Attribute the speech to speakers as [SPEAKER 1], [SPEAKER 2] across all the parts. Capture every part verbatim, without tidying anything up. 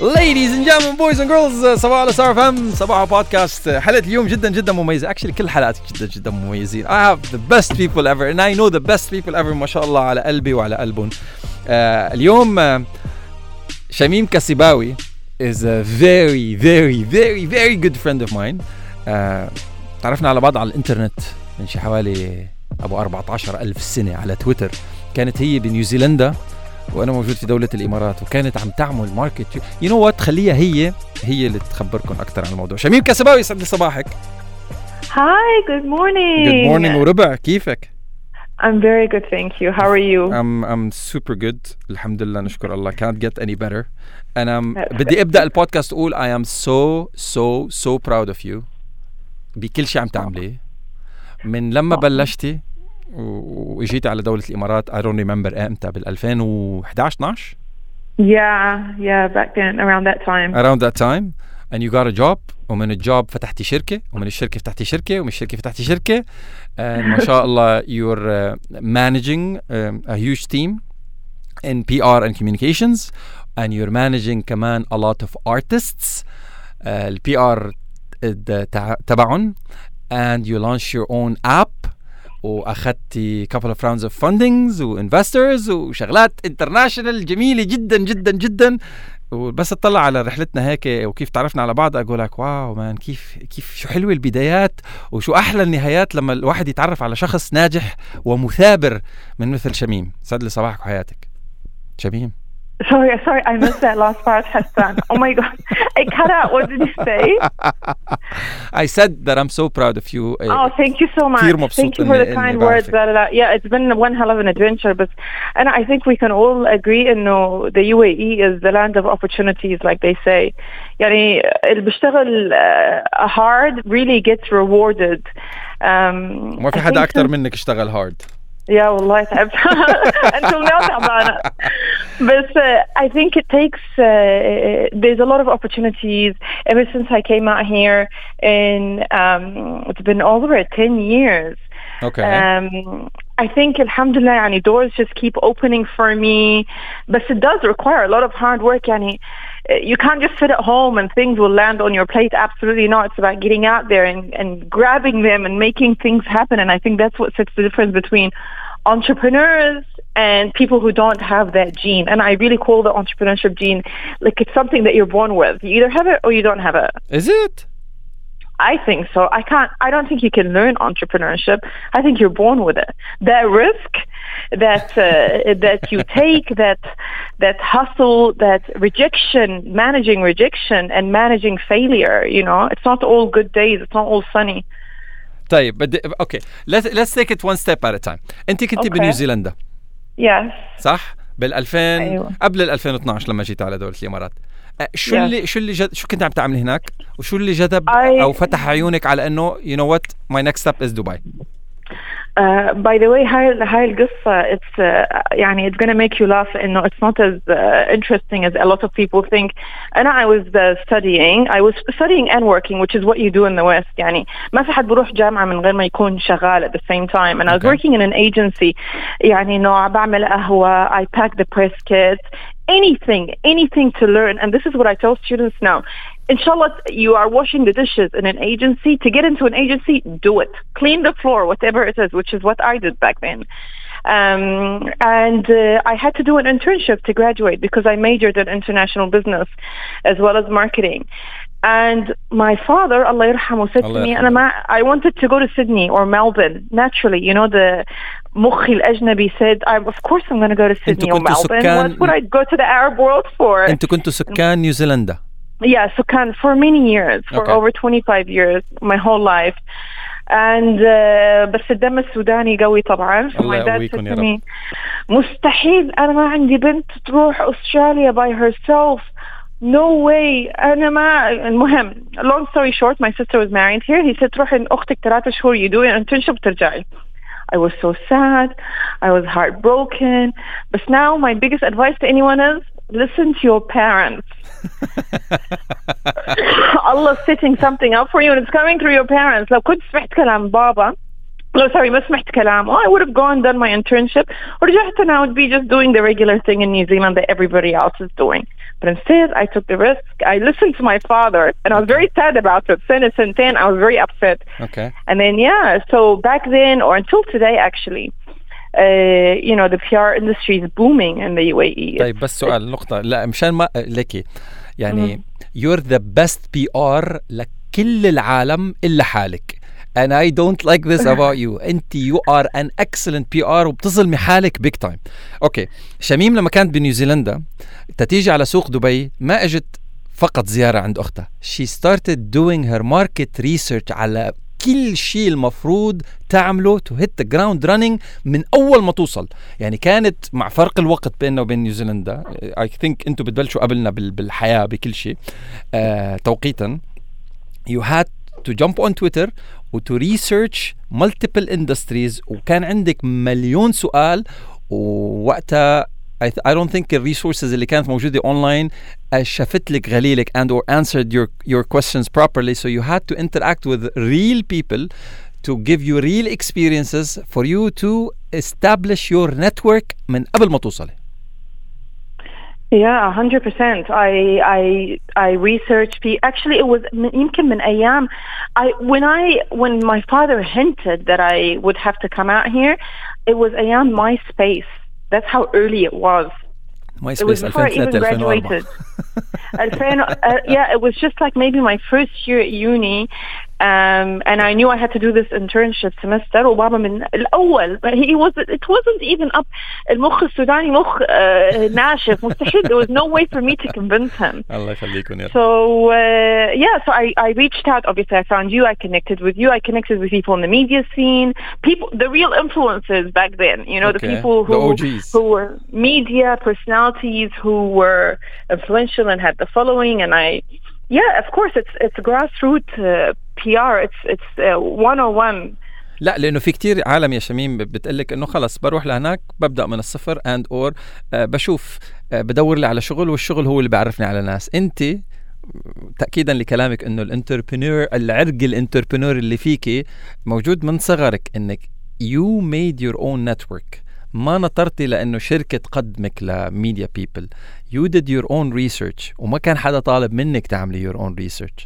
[SPEAKER 1] Ladies and gentlemen, boys and girls, صباح على ستار اف ام، صباح بودكاست. حلقة اليوم جدا جدا مميزة. Actually كل حلقات جدا جدا مميزين. I have the best people ever and I know the best people ever. ما شاء الله على قلبي وعلى قلبهم. uh, اليوم uh, شميم كسباوي is a very very very very good friend of mine. uh, تعرفنا على بعض على الانترنت من شي حوالي أبو أربعة عشر ألف سنة على تويتر. كانت هي بنيوزيلندا وأنا موجود في دولة الإمارات، وكانت عم تعمل ماركت. you know what، خليها هي هي اللي تخبركم أكتر عن الموضوع. شميم كسباوي، يسعد لي صباحك.
[SPEAKER 2] Hi, good morning.
[SPEAKER 1] Good morning وربع، كيفك؟
[SPEAKER 2] I'm very good, thank you. How are you?
[SPEAKER 1] I'm I'm super good. الحمد لله، نشكر الله. Can't get any better. أنا بدي أبدأ البودكاست أقول I am so so so proud of you بكل شيء عم تعمليه من لما بلشتي وإجيتي على دولة الإمارات. I don't remember امتى، بالألفين وإحدى عشر اثناشر.
[SPEAKER 2] Yeah, yeah, back then, around that time.
[SPEAKER 1] Around that time, and you got a job. ومن الجوب فتحتي شركة، ومن الشركة فتحتي شركة، ومن الشركة فتحتي شركة. and ما شاء الله you're uh, managing um, a huge team in P R and communications, and you're managing كمان a lot of artists. uh, ال P R تبعهم, and you launch your own app. وأخذتي couple of rounds of fundings وinvestors وشغلات international جميلة جدا جدا جدا. وبس اطلع على رحلتنا هيك وكيف تعرفنا على بعض أقول لك واو مان، كيف كيف شو حلوة البدايات وشو أحلى النهايات لما الواحد يتعرف على شخص ناجح ومثابر من مثل شميم. سعد لي صباحك وحياتك شميم.
[SPEAKER 2] Sorry, sorry, I missed that last part, Hassan. Oh my God, I cut out. What did you say?
[SPEAKER 1] I said that I'm so proud of you.
[SPEAKER 2] Oh, thank you so much. Thank you for the kind words. Blah, blah, blah. Yeah, it's been one hell of an adventure, but and I think we can all agree إنه the U A E is the land of opportunities, like they say. يعني اللي بيشتغل uh, hard really gets rewarded. Um,
[SPEAKER 1] ما في حدا أكتر منك اشتغل hard.
[SPEAKER 2] يا والله تعبت until now تعبانة. But uh, I think it takes uh, there's a lot of opportunities ever since I came out here, and um, it's been over ten years.
[SPEAKER 1] Okay.
[SPEAKER 2] Um, I think alhamdulillah يعني doors just keep opening for me, but it does require a lot of hard work. يعني you can't just sit at home and things will land on your plate. Absolutely not. It's about getting out there and, and grabbing them and making things happen. And I think that's what sets the difference between entrepreneurs and people who don't have that gene. And I really call the entrepreneurship gene like it's something that you're born with. You either have it or you don't have it.
[SPEAKER 1] Is it?
[SPEAKER 2] I think so. I can't, I don't think you can learn entrepreneurship. I think you're born with it. That risk that, uh, that you take, that, that hustle, that rejection, managing rejection and managing failure, you know, it's not all good days. It's not all sunny.
[SPEAKER 1] طيب بدي اوكي let's let's take it one step at a time. انت كنتي okay. بنيوزيلندا.
[SPEAKER 2] yes.
[SPEAKER 1] صح بالألفين
[SPEAKER 2] أيوة.
[SPEAKER 1] قبل الألفين واثناشر لما جيت على دولة الإمارات. شو
[SPEAKER 2] yes.
[SPEAKER 1] اللي شو اللي جد... شو كنت عم تعملي هناك وشو اللي جذب
[SPEAKER 2] I...
[SPEAKER 1] او فتح عيونك على انه you know what my next step is Dubai.
[SPEAKER 2] Uh, by the way, هاي هاي القصة it's uh, يعني it's gonna make you laugh. إنه it's not as uh, interesting as a lot of people think. And I was uh, studying, I was studying and working, which is what you do in the West. يعني ما في حد بروح جامعة من غير ما يكون شغال at the same time. And I was okay. working in an agency. يعني إنه بعمل قهوة, I pack the press kits, anything, anything to learn. And this is what I tell students now. Inshallah, you are washing the dishes in an agency. To get into an agency, do it. Clean the floor, whatever it is, which is what I did back then. Um, and uh, I had to do an internship to graduate because I majored in international business as well as marketing. And my father, Allah yarhamu, said Allah to me, Allah. I wanted to go to Sydney or Melbourne. Naturally, you know, the mukhi al-ajnabi said, I, of course I'm going to go to Sydney or Melbourne.
[SPEAKER 1] سكان...
[SPEAKER 2] What would I go to the Arab world for?
[SPEAKER 1] أنتوا كنتوا سكان نيوزيلندا.
[SPEAKER 2] Yeah, so can for many years, for
[SPEAKER 1] okay.
[SPEAKER 2] over twenty-five years, my whole life. And uh, بس الدم السوداني قوي طبعا. So my dad said to me, مستحيل أنا ما عندي بنت تروح أستراليا by herself. No way. أنا ما المهم. Long story short, my sister was married here. He said تروح أختك ثلاثة شهور you do an internship ترجعي. I was so sad. I was heartbroken. But now my biggest advice to anyone is listen to your parents. Allah's setting something up for you and it's coming through your parents. لو كنت سمعت كلام بابا No, sorry, ما سمعت كلامه. I would have gone done my internship ورجعت and I would be just doing the regular thing in New Zealand that everybody else is doing. But instead, I took the risk. I listened to my father, and I was very sad about it. Since then, I was very upset.
[SPEAKER 1] Okay.
[SPEAKER 2] And then, yeah, so back then, or until today, actually, uh, you know, the P R industry is booming in the U A E.
[SPEAKER 1] طيب بس سؤال نقطة لا مشان ما لكي يعني mm-hmm. you're the best P R لكل العالم إلا حالك. And I don't like this about you. أنت you are an excellent P R وبتظلمي حالك big time. أوكي. شميم لما كانت بنيوزيلندا تتيجي على سوق دبي ما اجت فقط زيارة عند أختها. She started doing her market research على كل شيء المفروض تعمله to hit the ground running من أول ما توصل. يعني كانت مع فرق الوقت بيننا وبين نيوزيلندا. I think أنتوا بتبلشوا قبلنا بالحياة بكل شيء آه توقيتا. You had to jump on Twitter و to research multiple industries وكان عندك مليون سؤال ووقتها I, th- I don't think the resources اللي كانت موجودة online شافت لك غليلك and or answered your your questions properly, so you had to interact with real people to give you real experiences for you to establish your network من قبل ما توصلي.
[SPEAKER 2] Yeah, one hundred percent. I I I researched. Actually, it was يمكن من أيام. I when I when my father hinted that I would have to come out here, it was أيام MySpace. That's how early it was.
[SPEAKER 1] MySpace
[SPEAKER 2] it was before I even graduated. uh, yeah, it was just like maybe my first year at uni. Um, and I knew I had to do this internship semester. وبابا من الأول he was it wasn't even up. المخ السوداني مخ uh, ناشف مستحيل. There was no way for me to convince him.
[SPEAKER 1] الله يخليكم يا.
[SPEAKER 2] So uh, yeah, so I I reached out. Obviously, I found you. I connected with you. I connected with people in the media scene. People, the real influencers back then. You know,
[SPEAKER 1] okay.
[SPEAKER 2] the people who
[SPEAKER 1] the O Gs.
[SPEAKER 2] who were media personalities who were influential and had the following. And I, yeah, of course, it's it's grassroots uh, P R. It's it's uh, one oh one.
[SPEAKER 1] لا لأنه في كتير عالم يا شميم بتقلك إنه خلص بروح لهناك ببدأ من الصفر and or آه بشوف آه بدور لي على شغل والشغل هو اللي بيعرفني على ناس. أنت تأكيدا لكلامك إنه الانتربرنور العرق الانتربرنور اللي فيكي موجود من صغرك إنك you made your own network. ما نطرتي لأنه شركة تقدمك لميديا people. You did your own research وما كان حدا طالب منك تعملي your own research.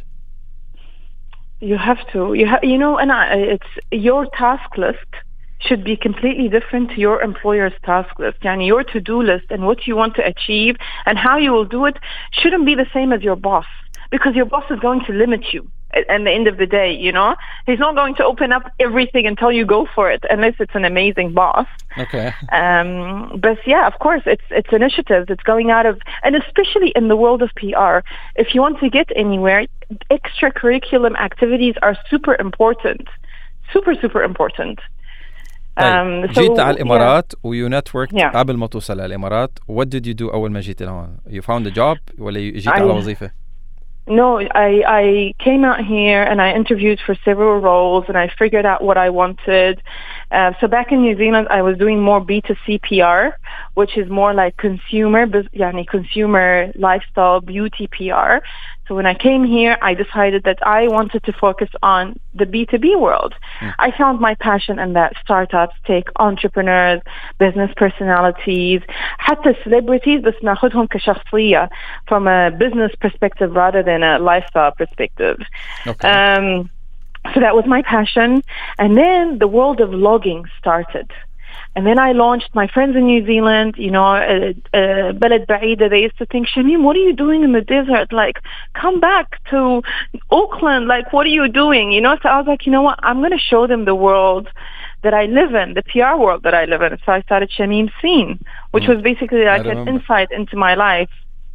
[SPEAKER 2] You have to. You have. You know, and I, it's your task list should be completely different to your employer's task list. Yani your to-do list and what you want to achieve and how you will do it shouldn't be the same as your boss, because your boss is going to limit you at, at the end of the day. You know, he's not going to open up everything and tell you go for it unless it's an amazing boss.
[SPEAKER 1] Okay.
[SPEAKER 2] Um, but yeah, of course, it's it's initiative that's going out of, and especially in the world of P R, if you want to get anywhere, extracurriculum activities are super important, super super important.
[SPEAKER 1] طيب um, so, جيت على الإمارات yeah. ويو نتورك yeah. قبل ما توصل على الإمارات. what did you do أول ما جيت لهون؟ you found a job ولا جيت I, على وظيفة؟
[SPEAKER 2] No, I, I came out here and I interviewed for several roles and I figured out what I wanted. Uh, so back in New Zealand, I was doing more B two C P R, which is more like consumer, yani consumer lifestyle beauty P R. So when I came here, I decided that I wanted to focus on the B two B world. Mm. I found my passion in that. Startups, tech, entrepreneurs, business personalities, حتى celebrities, بس ناخدهم كشخصية from a business perspective rather than a lifestyle perspective.
[SPEAKER 1] Okay.
[SPEAKER 2] Um, so that was my passion. And then the world of vlogging started. And then I launched my friends in New Zealand, you know, uh, uh, بلد بعيدة. They used to think, Shamim, what are you doing in the desert? Like, come back to Auckland. Like, what are you doing? You know, so I was like, you know what? I'm going to show them the world that I live in, the P R world that I live in. So I started Shamim Scene, which mm. was basically like an insight into my life.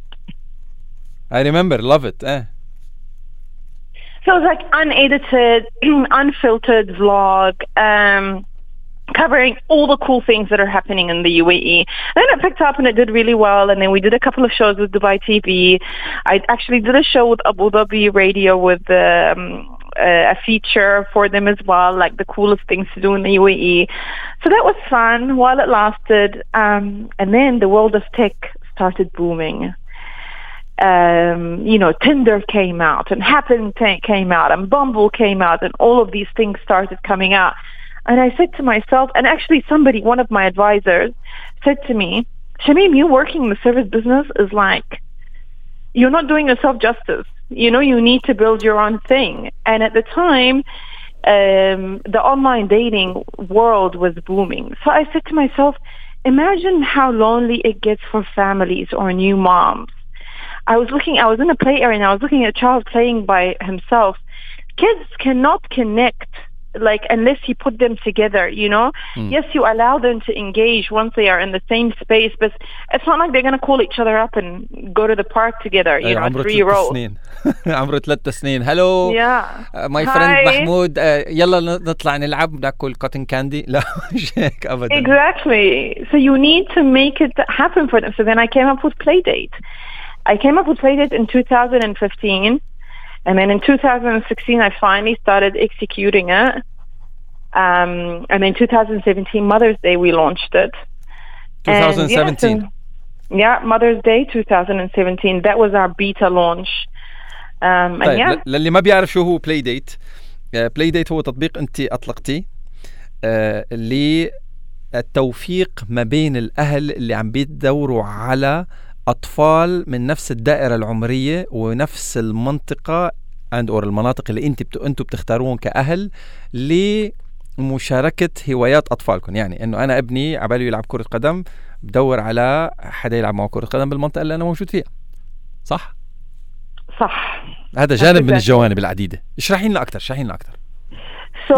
[SPEAKER 1] I remember, love it. Eh.
[SPEAKER 2] So it was like unedited, unfiltered vlog, um, covering all the cool things that are happening in the U A E. And then it picked up and it did really well. And then we did a couple of shows with Dubai T V. I actually did a show with Abu Dhabi Radio with um, a feature for them as well, like the coolest things to do in the U A E. So that was fun while it lasted. Um, and then the world of tech started booming. Um, you know, Tinder came out and Happen came out and Bumble came out and all of these things started coming out. And I said to myself, and actually somebody, one of my advisors said to me, Shamim, you working in the service business is like you're not doing yourself justice. You know, you need to build your own thing. And at the time, um, the online dating world was booming. So I said to myself, imagine how lonely it gets for families or new moms. I was looking, I was in a play area and I was looking at a child playing by himself. Kids cannot connect, like, unless you put them together, you know? Mm. Yes, you allow them to engage once they are in the same space, but it's not like they're going to call each other up and go to the park together, you know, three-year-old.
[SPEAKER 1] عمره ثلاث سنين. Hello,
[SPEAKER 2] yeah.
[SPEAKER 1] uh, my Hi. friend Mahmoud, uh, يلا نطلع نلعب ناكل cotton candy. لا مش هيك أبدا.
[SPEAKER 2] Exactly. So you need to make it happen for them. So then I came up with Playdate. I came up with Playdate in two thousand fifteen. And then in two thousand sixteen, I finally started executing it. Um, and then two thousand seventeen, Mother's Day, we launched it.
[SPEAKER 1] twenty seventeen?
[SPEAKER 2] And yeah, so, yeah, Mother's Day twenty seventeen. That was our beta launch. Um, and
[SPEAKER 1] طيب,
[SPEAKER 2] yeah.
[SPEAKER 1] للي ما بيعرف شو هو Playdate. uh, Playdate هو تطبيق أنت أطلقتيه uh, للتوفيق ما بين الأهل اللي عم بيدوروا على أطفال من نفس الدائرة العمرية ونفس المنطقة عند أو المناطق اللي أنت بت... أنتوا بتختاروهم كأهل لمشاركة هوايات أطفالكم. يعني إنه أنا ابني عباله يلعب كرة قدم، بدور على حدا يلعب معه كرة قدم بالمنطقة اللي أنا موجود فيها. صح؟
[SPEAKER 2] صح.
[SPEAKER 1] هذا جانب من الجوانب العديدة. اشرحي لنا أكتر، اشرحي لنا أكتر.
[SPEAKER 2] So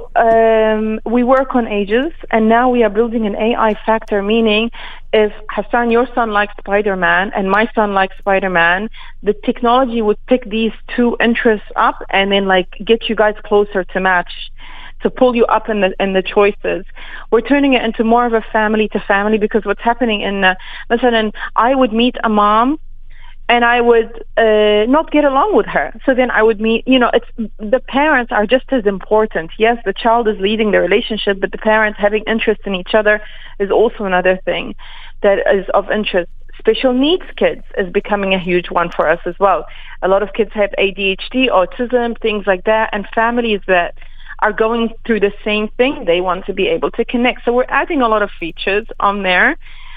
[SPEAKER 2] um, we work on ages, and now we are building an A I factor, meaning if Hassan, your son likes Spider-Man, and my son likes Spider-Man, the technology would pick these two interests up and then like get you guys closer to match, to pull you up in the in the choices. We're turning it into more of a family to family, because what's happening in, uh, listen, I would meet a mom and I would uh, not get along with her. So then I would meet, you know, it's the parents are just as important. Yes, the child is leading the relationship, but the parents having interest in each other is also another thing that is of interest. Special needs kids is becoming a huge one for us as well. A lot of kids have A D H D, autism, things like that, and families that are going through the same thing, they want to be able to connect. So we're adding a lot of features on there.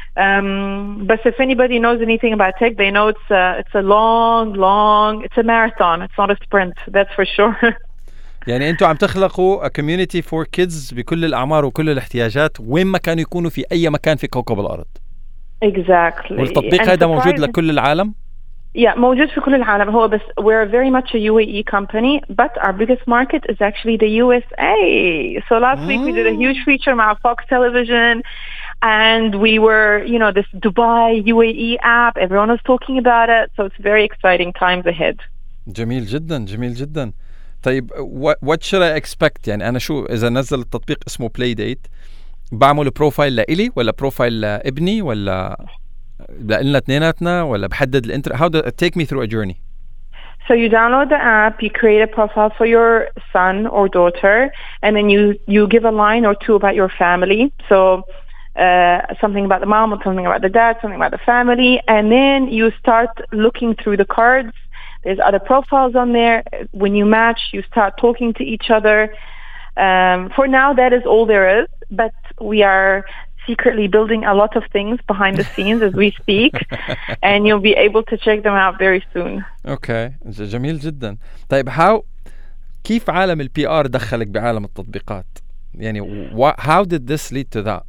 [SPEAKER 2] Um, but if anybody knows anything about tech, they know it's a, it's a long, long, it's a marathon. It's not a sprint, that's for sure.
[SPEAKER 1] يعني أنتوا عم تخلقوا a community for kids بكل الأعمار وكل الاحتياجات وين ما كانوا يكونوا في أي مكان في كوكب الأرض.
[SPEAKER 2] Exactly.
[SPEAKER 1] والتطبيق هذا موجود لكل العالم؟
[SPEAKER 2] Yeah, موجود في كل العالم. هو بس we're very much a U A E company, but our biggest market is actually the U S A. So last mm. week we did a huge feature مع Fox Television. And we were, you know, this Dubai U A E app. Everyone was talking about it. So it's very exciting times ahead.
[SPEAKER 1] جميل جدا جميل جدا. طيب what, what should I expect؟ يعني أنا شو إذا نزل التطبيق اسمه Playdate بعمل بروفايل لإلي ولا بروفايل لابني ولا لنا اثنيناتنا ولا بحدد الانتر how do take me through a journey.
[SPEAKER 2] So you download the app, you create a profile for your son or daughter, and then you you give a line or two about your family. So Uh, something about the mom, or something about the dad, something about the family, and then you start looking through the cards. There's other profiles on there. When you match, you start talking to each other. Um, for now, that is all there is, but we are secretly building a lot of things behind the scenes as we speak, and you'll be able to check them out very soon.
[SPEAKER 1] Okay, جميل جدا. طيب how كيف عالم البي آر دخلك بعالم التطبيقات؟ يعني how did this lead to that?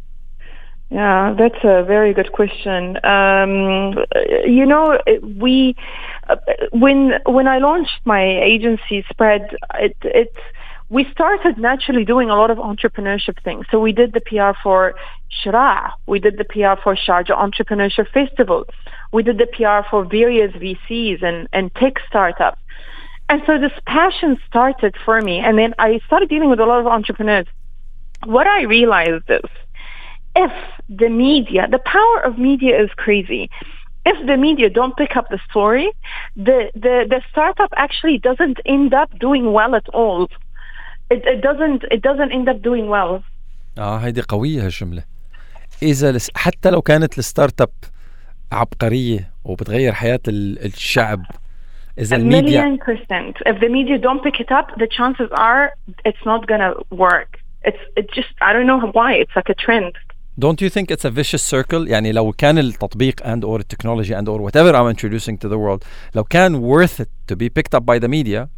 [SPEAKER 2] Yeah, that's a very good question. Um, you know, we uh, when when I launched my agency Spread, it it we started naturally doing a lot of entrepreneurship things. So we did the P R for Shira, we did the P R for Sharjah Entrepreneurship Festival, we did the P R for various V Cs and and tech startups. And so this passion started for me, and then I started dealing with a lot of entrepreneurs. What I realized is, if the media, the power of media is crazy. If the media don't pick up the story, the, the, the startup actually doesn't end up doing well at all. It, it doesn't it doesn't end up doing well.
[SPEAKER 1] اه هيدي قوية هالجملة. إذا لس حتى لو كانت الستارت اب عبقرية وبتغير حياة الشعب، إذا الميديا
[SPEAKER 2] million percent. If the media don't pick it up, the chances are it's not gonna work. It's it just I don't know why. It's like a trend.
[SPEAKER 1] Don't you think it's a vicious circle? يعني لو كان التطبيق and or technology and or whatever I'm introducing to the world لو كان worth it to be picked up by the media,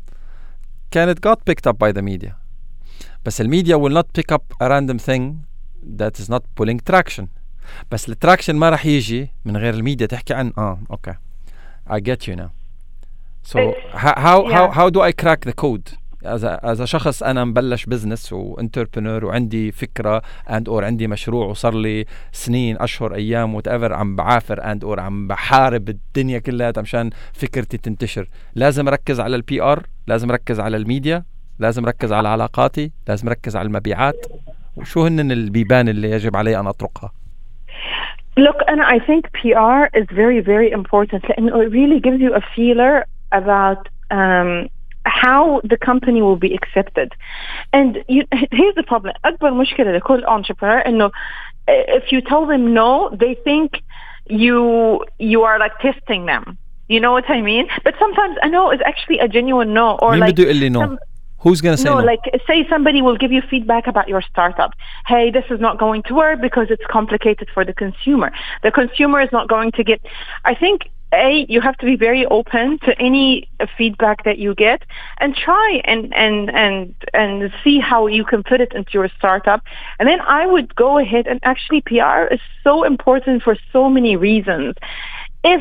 [SPEAKER 1] can it got picked up by the media. بس الميديا will not pick up a random thing that is not pulling traction. بس التراكشن ما راح يجي من غير الميديا تحكي عن اه okay I get you now. So how how,
[SPEAKER 2] yeah.
[SPEAKER 1] how how do I crack the code as a as a شخص أنا مبلش بزنس وانتربرنور وعندي فكرة and or عندي مشروع وصار لي سنين أشهر أيام whatever عم بعافر and or عم بحارب الدنيا كلها مشان فكرتي تنتشر. لازم أركز على البي آر، لازم أركز على الميديا، لازم أركز على علاقاتي، لازم أركز على المبيعات. وشو هن البيبان اللي يجب علي أن أطرقها؟
[SPEAKER 2] Look, and I think P R is very, very important. And it really gives you a feeler about um, how the company will be accepted. And you, here's the problem. أكبر مشكلة لكل entrepreneur إنه if you tell them no, they think you you are like testing them. You know what I mean? But sometimes a no is actually a genuine no. Or
[SPEAKER 1] مين
[SPEAKER 2] like
[SPEAKER 1] بده يقول لي no?
[SPEAKER 2] some,
[SPEAKER 1] Who's going to say
[SPEAKER 2] no,
[SPEAKER 1] no?
[SPEAKER 2] like say somebody will give you feedback about your startup. Hey, this is not going to work because it's complicated for the consumer. The consumer is not going to get... I think, A, you have to be very open to any feedback that you get and try and, and, and, and see how you can put it into your startup. And then I would go ahead and actually P R is so important for so many reasons. If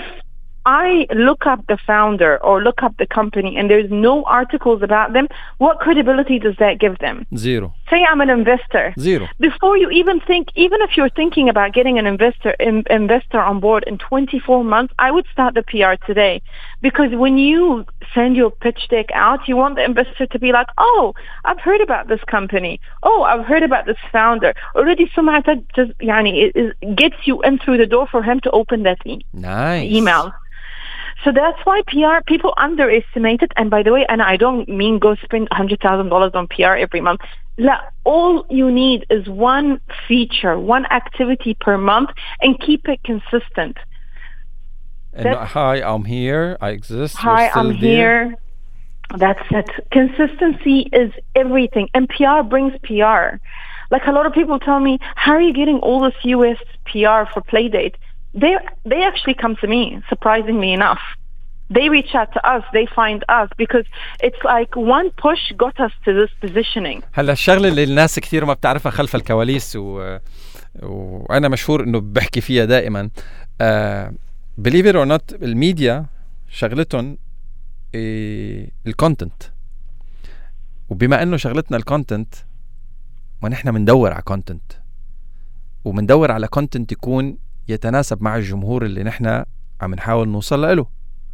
[SPEAKER 2] I look up the founder or look up the company and there's no articles about them, what credibility does that give them?
[SPEAKER 1] Zero.
[SPEAKER 2] Say I'm an investor.
[SPEAKER 1] Zero.
[SPEAKER 2] Before you even think, even if you're thinking about getting an investor in, investor on board in twenty-four months, I would start the P R today. Because when you send your pitch deck out, you want the investor to be like, oh, I've heard about this company. Oh, I've heard about this founder. Already سمعتك just يعني it, it gets you in through the door for him to open that e-
[SPEAKER 1] nice.
[SPEAKER 2] email. So that's why P R, people underestimate it. And by the way, and I don't mean go spend one hundred thousand dollars on P R every month. La, all you need is one feature, one activity per month and keep it consistent.
[SPEAKER 1] And hi, I'm here. I exist.
[SPEAKER 2] Hi, I'm
[SPEAKER 1] there.
[SPEAKER 2] here. That's it. Consistency is everything. And P R brings P R. Like a lot of people tell me, how are you getting all this U S P R for Playdate? They they actually come to me, surprisingly enough. They reach out to us, they find us because it's like one push got us to this positioning.
[SPEAKER 1] هلا الشغلة اللي الناس كثير ما بتعرفها خلف الكواليس و... وأنا مشهور إنه بحكي فيها دائما. uh, believe it or not الميديا شغلتهم الكونتنت، وبما إنه شغلتنا الكونتنت ونحن مندور على كونتنت ومندور على كونتنت يكون يتناسب مع الجمهور اللي نحن عم نحاول نوصل له.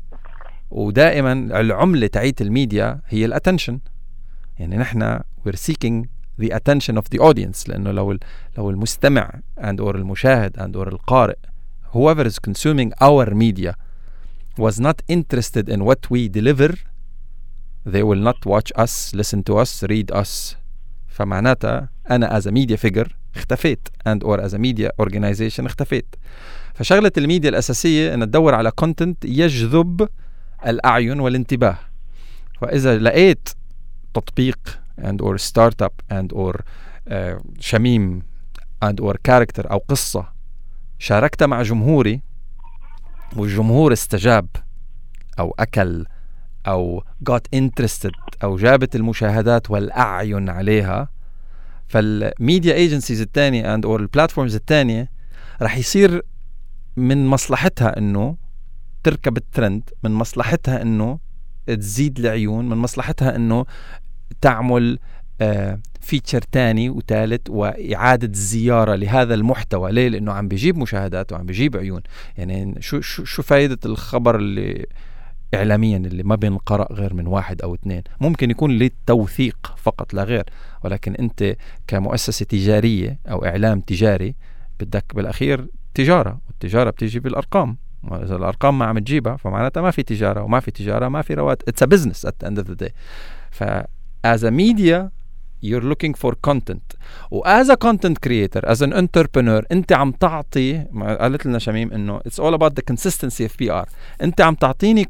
[SPEAKER 1] ودائما العملة تعيت الميديا هي الاتنشن. يعني نحن we're seeking the attention of the audience. لأنه لو لو المستمع and or المشاهد and or القارئ whoever is consuming our media was not interested in what we deliver, they will not watch us, listen to us, read us. فمعناتها أنا as a media figure اختفيت and or as a media organization اختفيت. فشغلة الميديا الأساسية أن تدور على content يجذب الأعين والانتباه. فإذا لقيت تطبيق and or startup and or uh, شميم and or character أو قصة شاركت مع جمهوري والجمهور استجاب أو أكل أو got interested أو جابت المشاهدات والأعين عليها، فالميديا ايجنسيز الثانية and or البلاتفورمز الثانية رح يصير من مصلحتها انه تركب الترند، من مصلحتها انه تزيد العيون، من مصلحتها انه تعمل آه فيتشر تاني وثالث وإعادة الزيارة لهذا المحتوى. ليه؟ لأنه عم بيجيب مشاهدات وعم بيجيب عيون. يعني شو شو شو فايدة الخبر اللي إعلاميا اللي ما بينقرأ غير من واحد أو اثنين؟ ممكن يكون للتوثيق فقط لا غير، ولكن أنت كمؤسسة تجارية أو إعلام تجاري بدك بالأخير تجارة، والتجارة بتيجي بالأرقام. إذا الأرقام ما عم تجيبها فمعناتها ما في تجارة، وما في تجارة ما في رواتب. It's a business at the end of the day. ف as a media you're looking for content، و as a content creator as an entrepreneur أنت عم تعطي، قالت لنا شميم إنه it's all about the consistency of P R. أنت عم تعطيني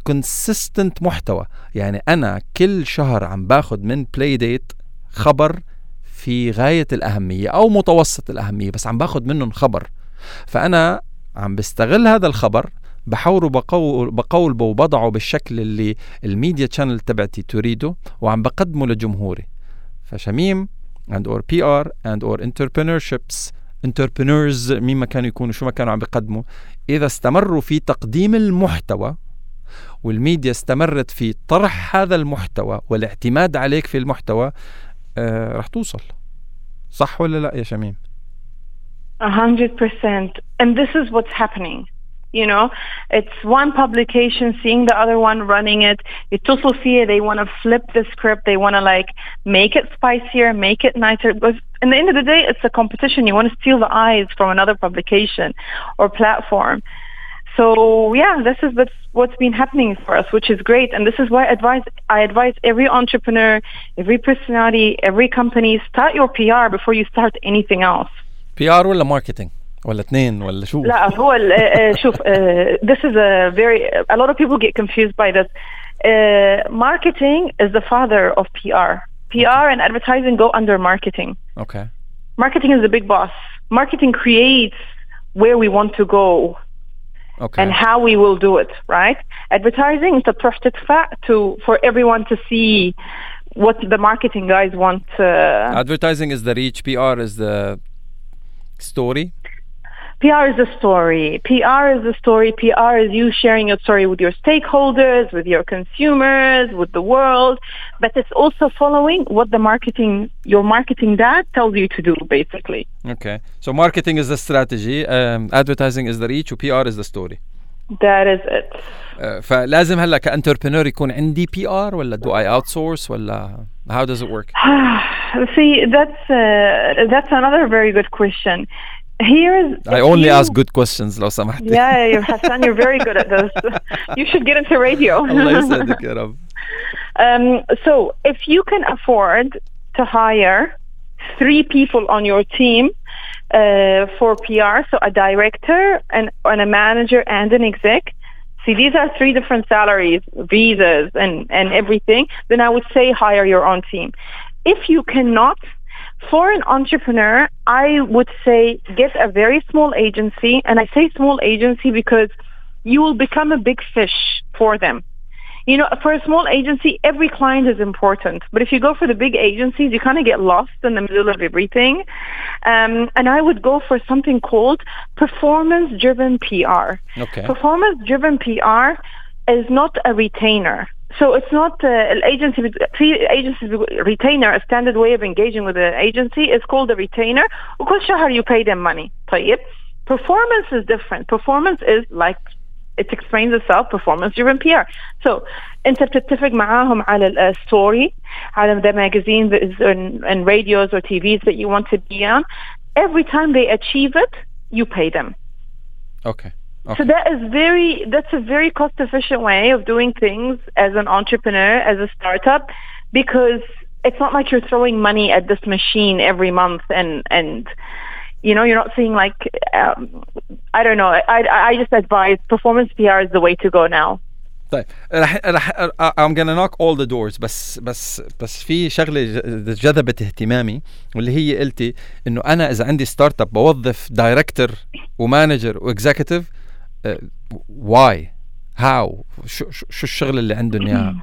[SPEAKER 1] consistent محتوى. يعني أنا كل شهر عم باخد من Playdate خبر في غاية الأهمية أو متوسط الأهمية، بس عم باخد منهم خبر، فأنا عم بستغل هذا الخبر، بحوره بقول بقول وبضعه بالشكل اللي الميديا تشانل تبعتي تريده، وعم بقدمه لجمهوري. فشميم and or بي آر and or entrepreneurships entrepreneurs مين ما كانوا يكونوا شو ما كانوا عم بيقدموا، إذا استمروا في تقديم المحتوى والميديا استمرت في طرح هذا المحتوى والاعتماد عليك في المحتوى، آه رح توصل. صح ولا لا يا شميم؟
[SPEAKER 2] A hundred percent. And this is what's happening. You know, it's one publication seeing the other one running it. يتصلوا فيه, they want to flip the script. They want to like make it spicier, make it nicer. But in the end of the day, it's a competition. You want to steal the eyes from another publication or platform. So yeah, this is what's been happening for us, which is great. And this is why I advise, I advise every entrepreneur, every personality, every company, start your P R before you start anything else.
[SPEAKER 1] بي آر ولا ماركتينج ولا اثنين ولا شو؟
[SPEAKER 2] لا هو شوف uh, this is a very a lot of people get confused by this. Uh, marketing is the father of P R. P R and advertising go under marketing.
[SPEAKER 1] Okay.
[SPEAKER 2] Marketing is the big boss. Marketing creates where we want to go. Okay. And how we will do it, right? Advertising is the perfect fact to for everyone to see what the marketing guys want. Uh,
[SPEAKER 1] Advertising is the reach. P R is the story.
[SPEAKER 2] P R is the story. P R is the story. P R is you sharing your story with your stakeholders, with your consumers, with the world. But it's also following what the marketing, your marketing dad tells you to do, basically.
[SPEAKER 1] Okay. So marketing is the strategy. Um, advertising is the reach. P R is the story.
[SPEAKER 2] That is it.
[SPEAKER 1] Uh, فلازم هلا كانتربرنور يكون عندي P R ولا do I outsource ولا how does it work?
[SPEAKER 2] See, that's uh, that's another very good question. Here is
[SPEAKER 1] I only you, ask good questions لو سمحت.
[SPEAKER 2] Yeah, you're Hassan, you're very good at this. You should get into radio.
[SPEAKER 1] الله يسعدك يا رب.
[SPEAKER 2] Um, so if you can afford to hire three people on your team uh, for P R, so a director and, and a manager and an exec. See, these are three different salaries, visas and, and everything. Then I would say hire your own team. If you cannot, for an entrepreneur, I would say get a very small agency. And I say small agency because you will become a big fish for them. You know, for a small agency, every client is important. But if you go for the big agencies, you kind of get lost in the middle of everything. Um, and I would go for something called performance-driven P R.
[SPEAKER 1] Okay.
[SPEAKER 2] Performance-driven P R is not a retainer. So it's not uh, an agency, agency retainer, a standard way of engaging with an agency is called a retainer. وكل شهر you pay them money. طيب. Performance is different. Performance is like it explains itself, performance-driven P R. So, أنت بتتفق معاهم على الstory, على the magazines and, and radios or T Vs that you want to be on. Every time they achieve it, you pay them.
[SPEAKER 1] Okay. Okay.
[SPEAKER 2] So that is very, that's a very cost-efficient way of doing things as an entrepreneur, as a startup, because it's not like you're throwing money at this machine every month and and. You know, you're not seeing like, um, I don't know, I, I just advise performance P R is the way to go now.
[SPEAKER 1] طيب رح رح I'm gonna knock all the doors بس بس بس في شغلة جذبت اهتمامي واللي هي قلتي إنه أنا إذا عندي ستارت اب بوظف دايركتور ومانجر واكزيكتيف why how شو شو الشغل اللي عندهم إياها؟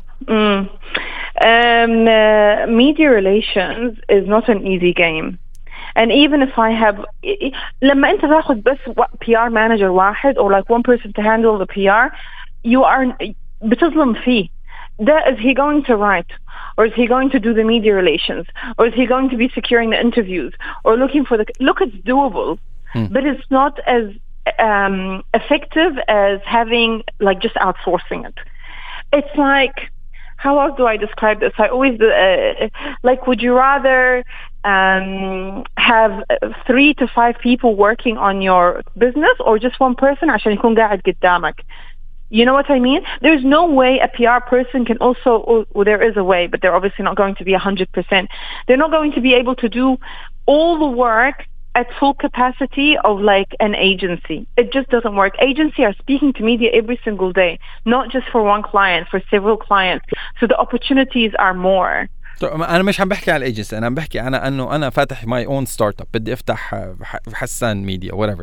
[SPEAKER 2] Um, uh, media relations is not an easy game. And even if I have, لما أنت تأخذ بس P R manager واحد or like one person to handle the P R, you are بتظلم فيه. That is he going to write, or is he going to do the media relations, or is he going to be securing the interviews, or looking for the look? It's doable, hmm. but it's not as um, effective as having like just outsourcing it. It's like, how else do I describe this? I always uh, like, would you rather um, have three to five people working on your business or just one person عشان يكون قاعد قدامك? You know what I mean? There's no way a P R person can also, well, there is a way, but they're obviously not going to be one hundred percent. They're not going to be able to do all the work at full capacity of like an agency. It just doesn't work. Agency are speaking to media every single day, not just for one client, for several clients. So the opportunities are more.
[SPEAKER 1] انا مش عم بحكي على الايجنسي، انا عم بحكي انا انه انا فاتح ماي اون ستارت اب، بدي افتح حسان ميديا whatever.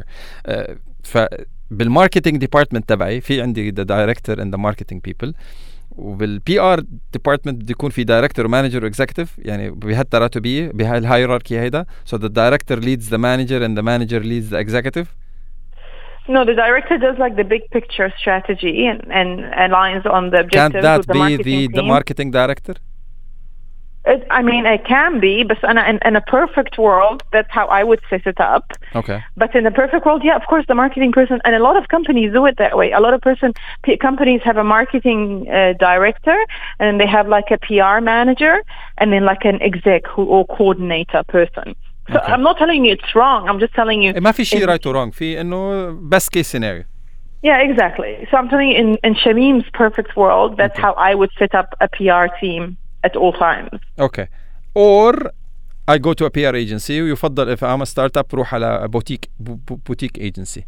[SPEAKER 1] فبالماركتينج ديبارتمنت تبعي في عندي the director and the marketing people، وبالبي ار ديبارتمنت بده يكون في دايركتور ومانجر واكزيكتيف، يعني بهالتراتبيه بهالهيراركي هيدا. so the director leads the manager and the manager leads the executive.
[SPEAKER 2] No, the director does like the big picture strategy and, and aligns on the objectives.
[SPEAKER 1] Can't that
[SPEAKER 2] with the
[SPEAKER 1] be
[SPEAKER 2] marketing
[SPEAKER 1] the,
[SPEAKER 2] team.
[SPEAKER 1] the marketing director?
[SPEAKER 2] It, I mean, it can be, but in a, in a perfect world, that's how I would set it up.
[SPEAKER 1] Okay.
[SPEAKER 2] But in the perfect world, yeah, of course, the marketing person, and a lot of companies do it that way. A lot of person p- companies have a marketing uh, director, and they have like a P R manager, and then like an exec who or coordinator person. So
[SPEAKER 1] Okay.
[SPEAKER 2] I'm not telling you it's wrong. I'm just telling you.
[SPEAKER 1] ما في شيء right or wrong، في إنه best case scenario.
[SPEAKER 2] Yeah, exactly. So I'm telling you, in, in Shamim's perfect world, that's
[SPEAKER 1] Okay.
[SPEAKER 2] how I would set up a P R team at all times.
[SPEAKER 1] Okay. Or I go to a P R agency. ويفضل if I'm a startup روح على boutique boutique agency.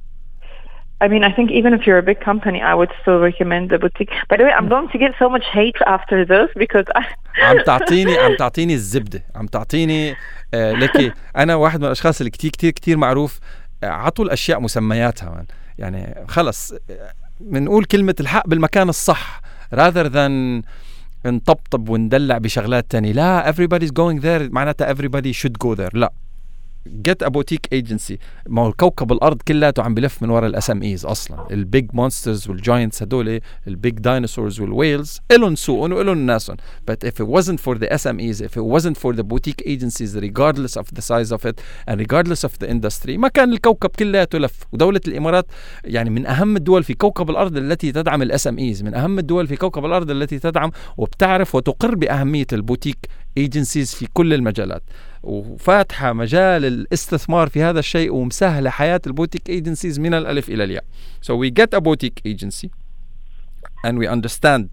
[SPEAKER 2] I mean, I think even if you're a big company, I would still recommend the boutique. By the way, I'm going to get so much hate after this because I
[SPEAKER 1] عم تعطيني عم تعطيني الزبدة، عم تعطيني آه لكي أنا واحد من الأشخاص اللي كتير كتير كتير معروف آه عطوا الأشياء مسمياتها من. يعني خلص بنقول كلمة الحق بالمكان الصح rather than نطبطب وندلع بشغلات تانية. لا everybody's going there معناتها everybody should go there. لا get a boutique agency. ما هو كوكب الأرض كلته عم بلف من وراء الاس ام ايز أصلا. البيج مونسترز والجاينتس هدول البيج دايناصورز والويلز إلهم سوقهم وإلهم ناسهم. But if it wasn't for the S M Es, if it wasn't for the boutique agencies, regardless of the size of it and regardless of the industry, ما كان الكوكب كلته لف. ودولة الإمارات يعني من أهم الدول في كوكب الأرض التي تدعم الاس ام ايز، من أهم الدول في كوكب الأرض التي تدعم وبتعرف وتقر بأهمية البوتيك agencies في كل المجالات، وفاتحة مجال الاستثمار في هذا الشيء ومسهلة حياة البوتيك agencies من الألف إلى الياء. So we get a boutique agency and we understand.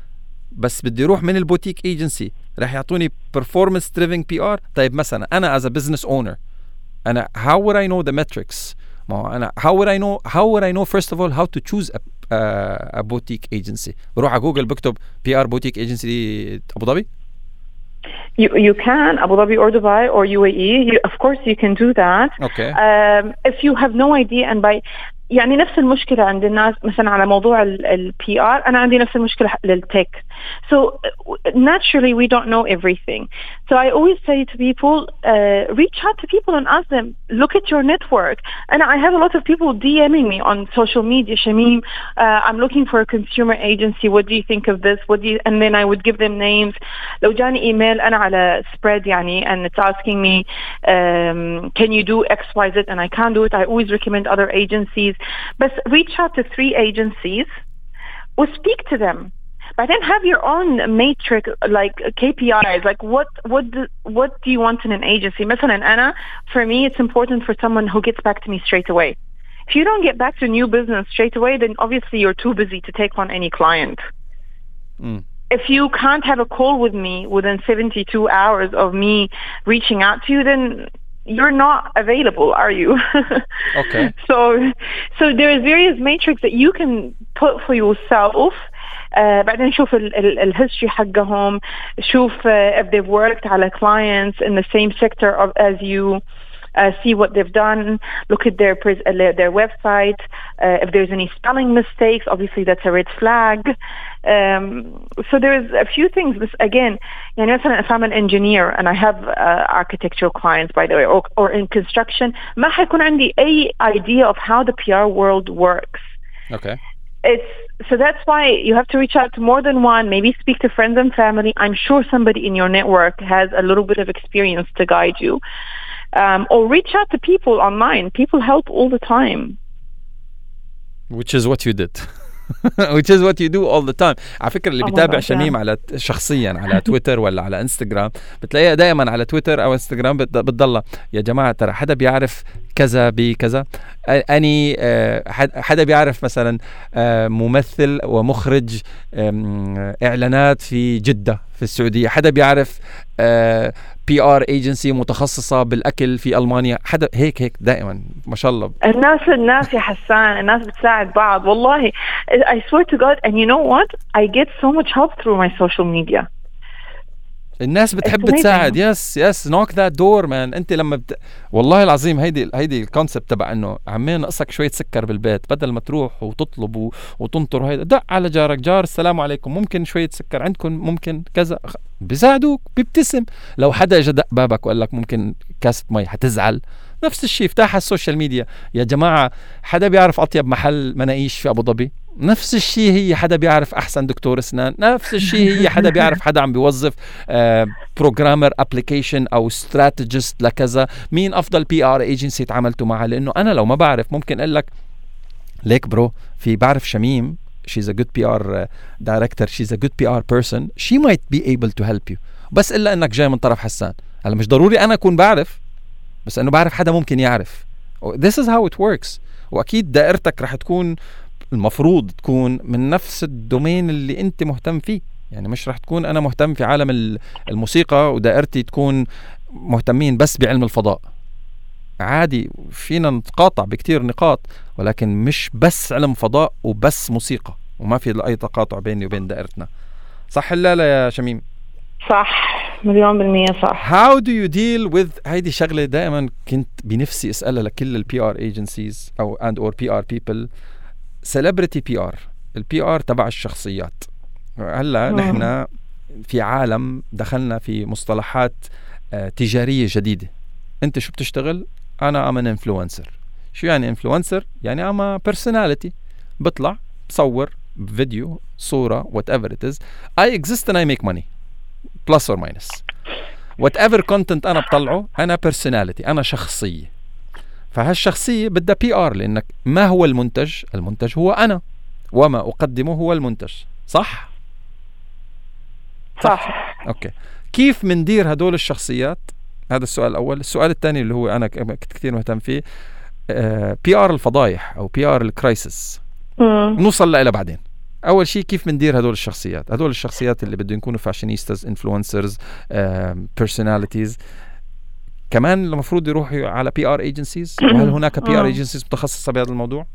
[SPEAKER 1] بس بدي روح من البوتيك agency راح يعطوني performance driven P R. طيب مثلا أنا as a business owner أنا how would I know the metrics؟ ما هو أنا how would I know how would I know first of all how to choose a, a, a boutique agency؟ بروح على جوجل بكتب P R boutique agency أبو ظبي.
[SPEAKER 2] You you can Abu Dhabi or Dubai or U A E. You, of course, you can do that.
[SPEAKER 1] Okay.
[SPEAKER 2] Um, if you have no idea and by يعني نفس المشكلة عند الناس مثلا على موضوع ال P R أنا عندي نفس المشكلة للتك. So naturally we don't know everything. So I always say to people, uh, reach out to people and ask them, look at your network. And I have a lot of people DMing me on social media, Shamim, uh, I'm looking for a consumer agency. What do you think of this? What do you, and then I would give them names. لو جاني email أنا على spread يعني and it's asking me, um, can you do X, Y, Z? And I can't do it. I always recommend other agencies. But reach out to three agencies or speak to them. But then have your own matrix, like K P Is. Like what, what, do, what do you want in an agency? مثلا أنا, for me, it's important for someone who gets back to me straight away. If you don't get back to new business straight away, then obviously you're too busy to take on any client.
[SPEAKER 1] Mm.
[SPEAKER 2] If you can't have a call with me within seventy-two hours of me reaching out to you, then you're not available, are you?
[SPEAKER 1] Okay.
[SPEAKER 2] So, so there's various matrix that you can put for yourself. Uh, بعدين شوف ال ال الhistory حقهم، شوف uh, if they've worked على clients in the same sector of, as you. Uh, see what they've done, look at their pres- uh, their website. Uh, if there's any spelling mistakes, obviously that's a red flag. Um, so there's a few things. This again, you know, if I'm an engineer and I have uh, architectural clients, by the way, or, or in construction, ما حيكون عندي أي idea of how the P R world works.
[SPEAKER 1] Okay.
[SPEAKER 2] It's so that's why you have to reach out to more than one. Maybe speak to friends and family. I'm sure somebody in your network has a little bit of experience to guide you. Um, or reach out to people online. People help all the time.
[SPEAKER 1] Which is what you did. Which is what you do all the time. على فكرة اللي بيتابع شميم على شخصيا على تويتر ولا على انستغرام بتلاقيها دائما على تويتر أو انستغرام بتضل يا جماعة ترى حدا بيعرف كذا بكذا. أني حدا بيعرف مثلا ممثل ومخرج إعلانات في جدة في السعودية، حدا بيعرف بي ار ايجنسي متخصصة بالأكل في ألمانيا، حدا هيك هيك دائما ما شاء الله.
[SPEAKER 2] الناس الناس يا حسان الناس بتساعد بعض والله. I swear to God, and you know what? I get so much help through my social media.
[SPEAKER 1] الناس بتحب تساعد. يس يس نوك ذات دور مان. انت لما بت... والله العظيم هيدي هيدي الكونسبت تبع انه عمين نقصك شويه سكر بالبيت، بدل ما تروح وتطلب و... وتنطر هيدا، دق على جارك، جار السلام عليكم ممكن شويه سكر عندكم، ممكن كذا، بيساعدوك، بيبتسم. لو حدا اجى دق بابك وقال لك ممكن كاسة مي حتزعل. نفس الشيء افتح على السوشيال ميديا يا جماعه، حدا بيعرف اطيب محل مناقيش في ابو ظبي؟ نفس الشيء هي حدا بيعرف احسن دكتور اسنان؟ نفس الشيء هي حدا بيعرف حدا عم بيوظف بروجرامر ابلكيشن او استراتيجيست لكذا؟ مين افضل بي ار ايجنسي تعاملتوا معها؟ لانه انا لو ما بعرف ممكن اقول لك ليك برو، في بعرف شميم she's a good بي آر director, she's a good بي آر person, she might be able to help you. بس الا انك جاي من طرف حسان. هلا مش ضروري انا اكون بعرف، بس انه بعرف حدا ممكن يعرف. this is how it works. واكيد دائرتك رح تكون المفروض تكون من نفس الدومين اللي انت مهتم فيه. يعني مش رح تكون انا مهتم في عالم الموسيقى ودائرتي تكون مهتمين بس بعلم الفضاء. عادي فينا نتقاطع بكتير نقاط، ولكن مش بس علم فضاء وبس موسيقى، وما في اي تقاطع بيني وبين دائرتنا. صح لا لا يا شميم؟
[SPEAKER 2] صح مليون بالمية صح.
[SPEAKER 1] How do you deal with هيدي شغلة دائما كنت بنفسي اسألها لكل البي ار agencies او and or بي ار people. celebrity بي ار، البي ار تبع الشخصيات. هلا نحن في عالم دخلنا في مصطلحات آه تجارية جديدة. انت شو بتشتغل؟ انا ام ان انفلونسر. شو يعني انفلونسر؟ يعني ام personality، بطلع بصور فيديو صورة whatever it is. I exist and I make money plus or minus whatever content انا بطلعه. انا personality، انا شخصية. فهالشخصية بدها بي ار، لانك ما هو المنتج؟ المنتج هو انا، وما اقدمه هو المنتج. صح؟
[SPEAKER 2] صح, صح.
[SPEAKER 1] اوكي. كيف مندير هدول الشخصيات؟ هذا السؤال الأول. السؤال الثاني اللي هو أنا كنت كثير مهتم فيه، بي آر الفضايح أو بي آر الكرايسيس، نوصل لها بعدين. أول شيء كيف مندير هدول الشخصيات؟ هدول الشخصيات اللي بدهم يكونوا فاشينيستاز، انفلونسرز، بيرسوناليتيز، كمان المفروض يروحوا على بي آر ايجنسيز. وهل هناك بي آر ايجنسيز متخصصة بهذا الموضوع؟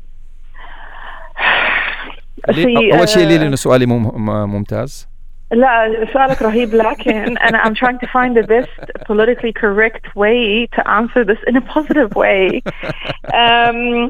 [SPEAKER 1] أول شيء لي لأنه سؤالي ممتاز.
[SPEAKER 2] لا سؤالك رهيب، لكن أنا I'm trying to find the best politically correct way to answer this in a positive way. um,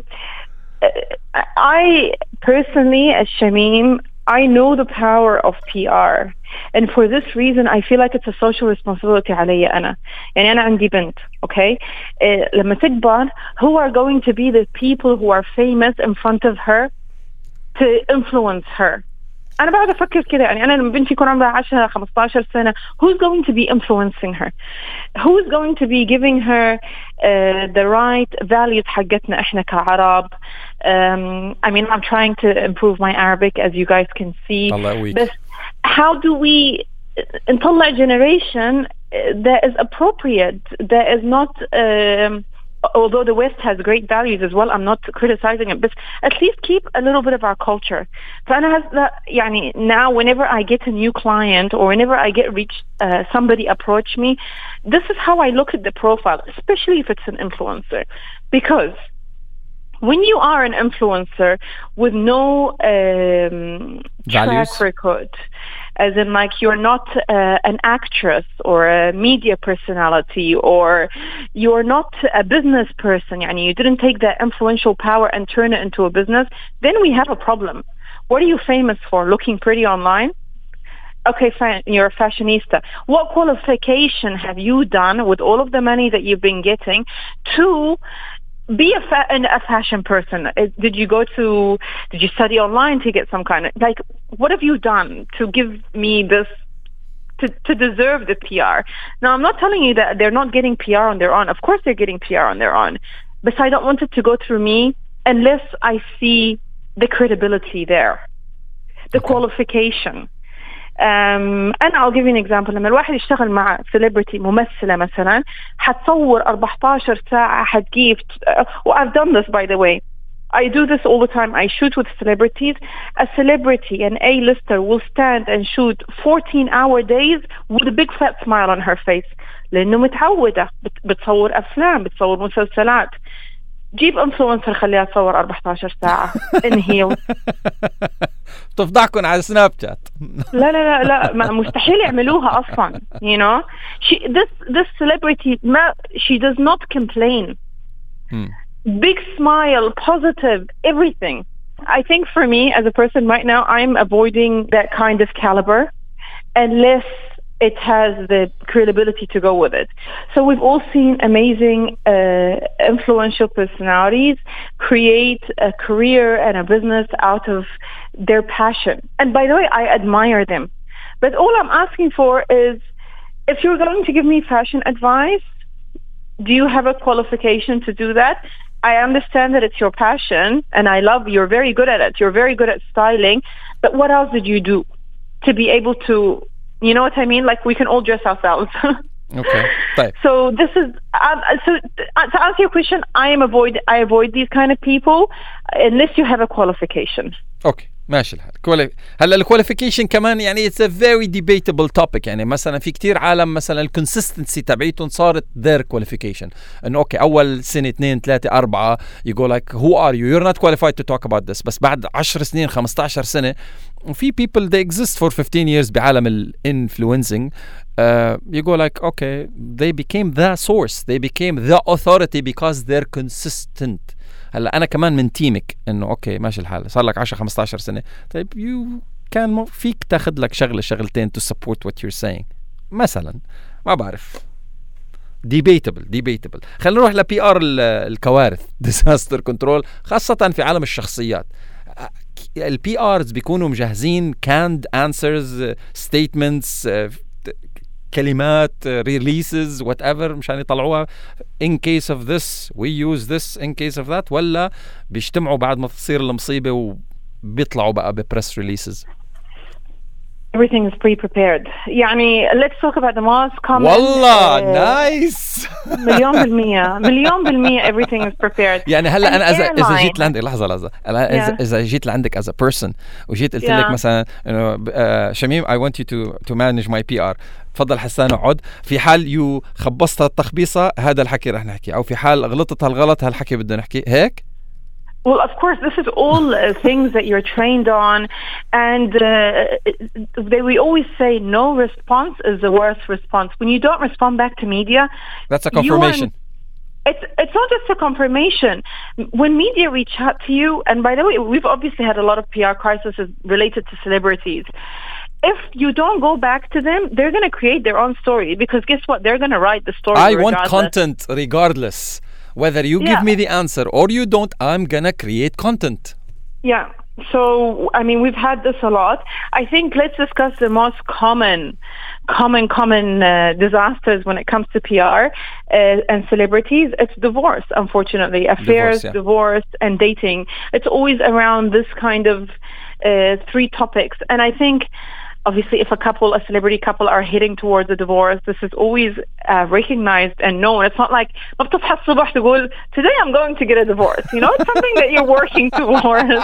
[SPEAKER 2] I personally, as Shamim, I know the power of P R, and for this reason I feel like it's a social responsibility علي أنا. يعني أنا عندي بنت، okay? uh, لما تكبر who are going to be the people who are famous in front of her to influence her. أنا بعد أفكر كده، يعني أنا لما بنتي يكون عمرها عشرة خمستاشر سنة who's going to be influencing her, who's going to be giving her uh, the right values حقتنا إحنا كعرب. um, I mean I'm trying to improve my Arabic as you guys can see, but how do we نطلع generation that is appropriate, that is not um, although the West has great values as well, I'm not criticizing it, but at least keep a little bit of our culture. فأنا هذا يعني now whenever I get a new client or whenever I get reached, uh, somebody approach me, this is how I look at the profile, especially if it's an influencer, because when you are an influencer with no um, track record, as in like you're not uh, an actress or a media personality, or you're not a business person, yani you didn't take that influential power and turn it into a business, then we have a problem. What are you famous for? Looking pretty online? Okay, fine, you're a fashionista. What qualification have you done with all of the money that you've been getting to be a, fa- a fashion person? Did you go to, did you study online to get some kind of, like, what have you done to give me this, to, to deserve the P R? Now, I'm not telling you that they're not getting P R on their own. Of course they're getting P R on their own. But I don't want it to go through me unless I see the credibility there, the okay. qualification. Um, and I'll give you an example. لما الواحد يشتغل مع celebrity ممثلة مثلا حتصور أربعتاشر ساعة حتجيب uh, well, I've done this by the way. I do this all the time. I shoot with celebrities. A celebrity, an A-lister, will stand and shoot fourteen hour days with a big fat smile on her face. لأنه متعودة بتصور أفلام، بتصور مسلسلات. جيب انفلونسر خليها تصور أربعة عشر ساعة in heels.
[SPEAKER 1] تفضحكم على سناب شات.
[SPEAKER 2] لا لا لا لا مستحيل يعملوها أصلا. You know, she this this celebrity ما she does not complain.
[SPEAKER 1] Hmm.
[SPEAKER 2] Big smile, positive, everything. I think for me as a person right now, I'm avoiding that kind of caliber unless it has the credibility to go with it. So we've all seen amazing, uh, influential personalities create a career and a business out of their passion. And by the way, I admire them. But all I'm asking for is, if you're going to give me fashion advice, do you have a qualification to do that? I understand that it's your passion, and I love you're very good at it. You're very good at styling. But what else did you do to be able to, you know what I mean? Like, we can all dress ourselves.
[SPEAKER 1] Okay. طيب.
[SPEAKER 2] So this is uh, so uh, to answer your question, I am avoid I avoid these kind of people unless you have a qualification.
[SPEAKER 1] اوكي ماشي الحال. كوالي... هلا الكواليفيكيشن كمان يعني it's a very debatable topic. يعني مثلا في كتير عالم مثلا الكونسستنسي تبعيتهم صارت their qualification. انه اوكي اول سنه اثنين ثلاثه اربعه you go like who are you you're not qualified to talk about this. بس بعد عشر سنين خمسة عشر سنه وفي people they exist for fifteen years بعالم الانفلونسنج uh, you go like okay they became the source, they became the authority because they're consistent. هلا انا كمان من تيمك انه اوكي ماشي الحال صار لك عشرة خمسة عشر سنه طيب يو كان فيك تاخذ لك شغله شغلتين to support what you're saying مثلا ما بعرف debatable debatable. خلينا نروح لبي ار الكوارث disaster control خاصه في عالم الشخصيات. البي ارز بيكونوا مجهزين canned answers statements كلمات releases whatever مشان يطلعوها in case of this we use this in case of that ولا بيجتمعوا بعد ما تصير المصيبة وبيطلعوا بقى بpress releases.
[SPEAKER 2] Everything is pre-prepared. يعني let's talk about the most common.
[SPEAKER 1] والله نايس.
[SPEAKER 2] مليون بالمية مليون بالمية everything is prepared.
[SPEAKER 1] يعني هلا أنا إذا إذا جيت لعندك لحظة لحظة أنا إذا إذا جيت لعندك as a person وجيت قلت لك مثلا إنه شميم I want you to to manage my P R. تفضل حسان اقعد. في حال يو خبصت التخبيصة هذا الحكي رح نحكي أو في حال غلطت هالغلط هالحكي بدنا نحكي هيك.
[SPEAKER 2] Well, of course, this is all uh, things that you're trained on, and uh, they, we always say no response is the worst response. When you don't respond back to media,
[SPEAKER 1] that's a confirmation.
[SPEAKER 2] It's it's not just a confirmation. When media reach out to you, and by the way, we've obviously had a lot of P R crises related to celebrities. If you don't go back to them, they're going to create their own story because guess what? They're going to write the story.
[SPEAKER 1] I
[SPEAKER 2] regardless.
[SPEAKER 1] want content regardless. Whether you
[SPEAKER 2] yeah.
[SPEAKER 1] give me the answer or you don't, I'm gonna create content.
[SPEAKER 2] Yeah. So, I mean, we've had this a lot. I think let's discuss the most common, common, common uh, disasters when it comes to P R uh, and celebrities. It's divorce, unfortunately. Affairs, divorce, yeah. divorce, and dating. It's always around this kind of uh, three topics. And I think obviously if a couple, a celebrity couple are heading towards a divorce, this is always uh, recognized and known. It's not like today I'm going to get a divorce. You know, it's something that you're working towards.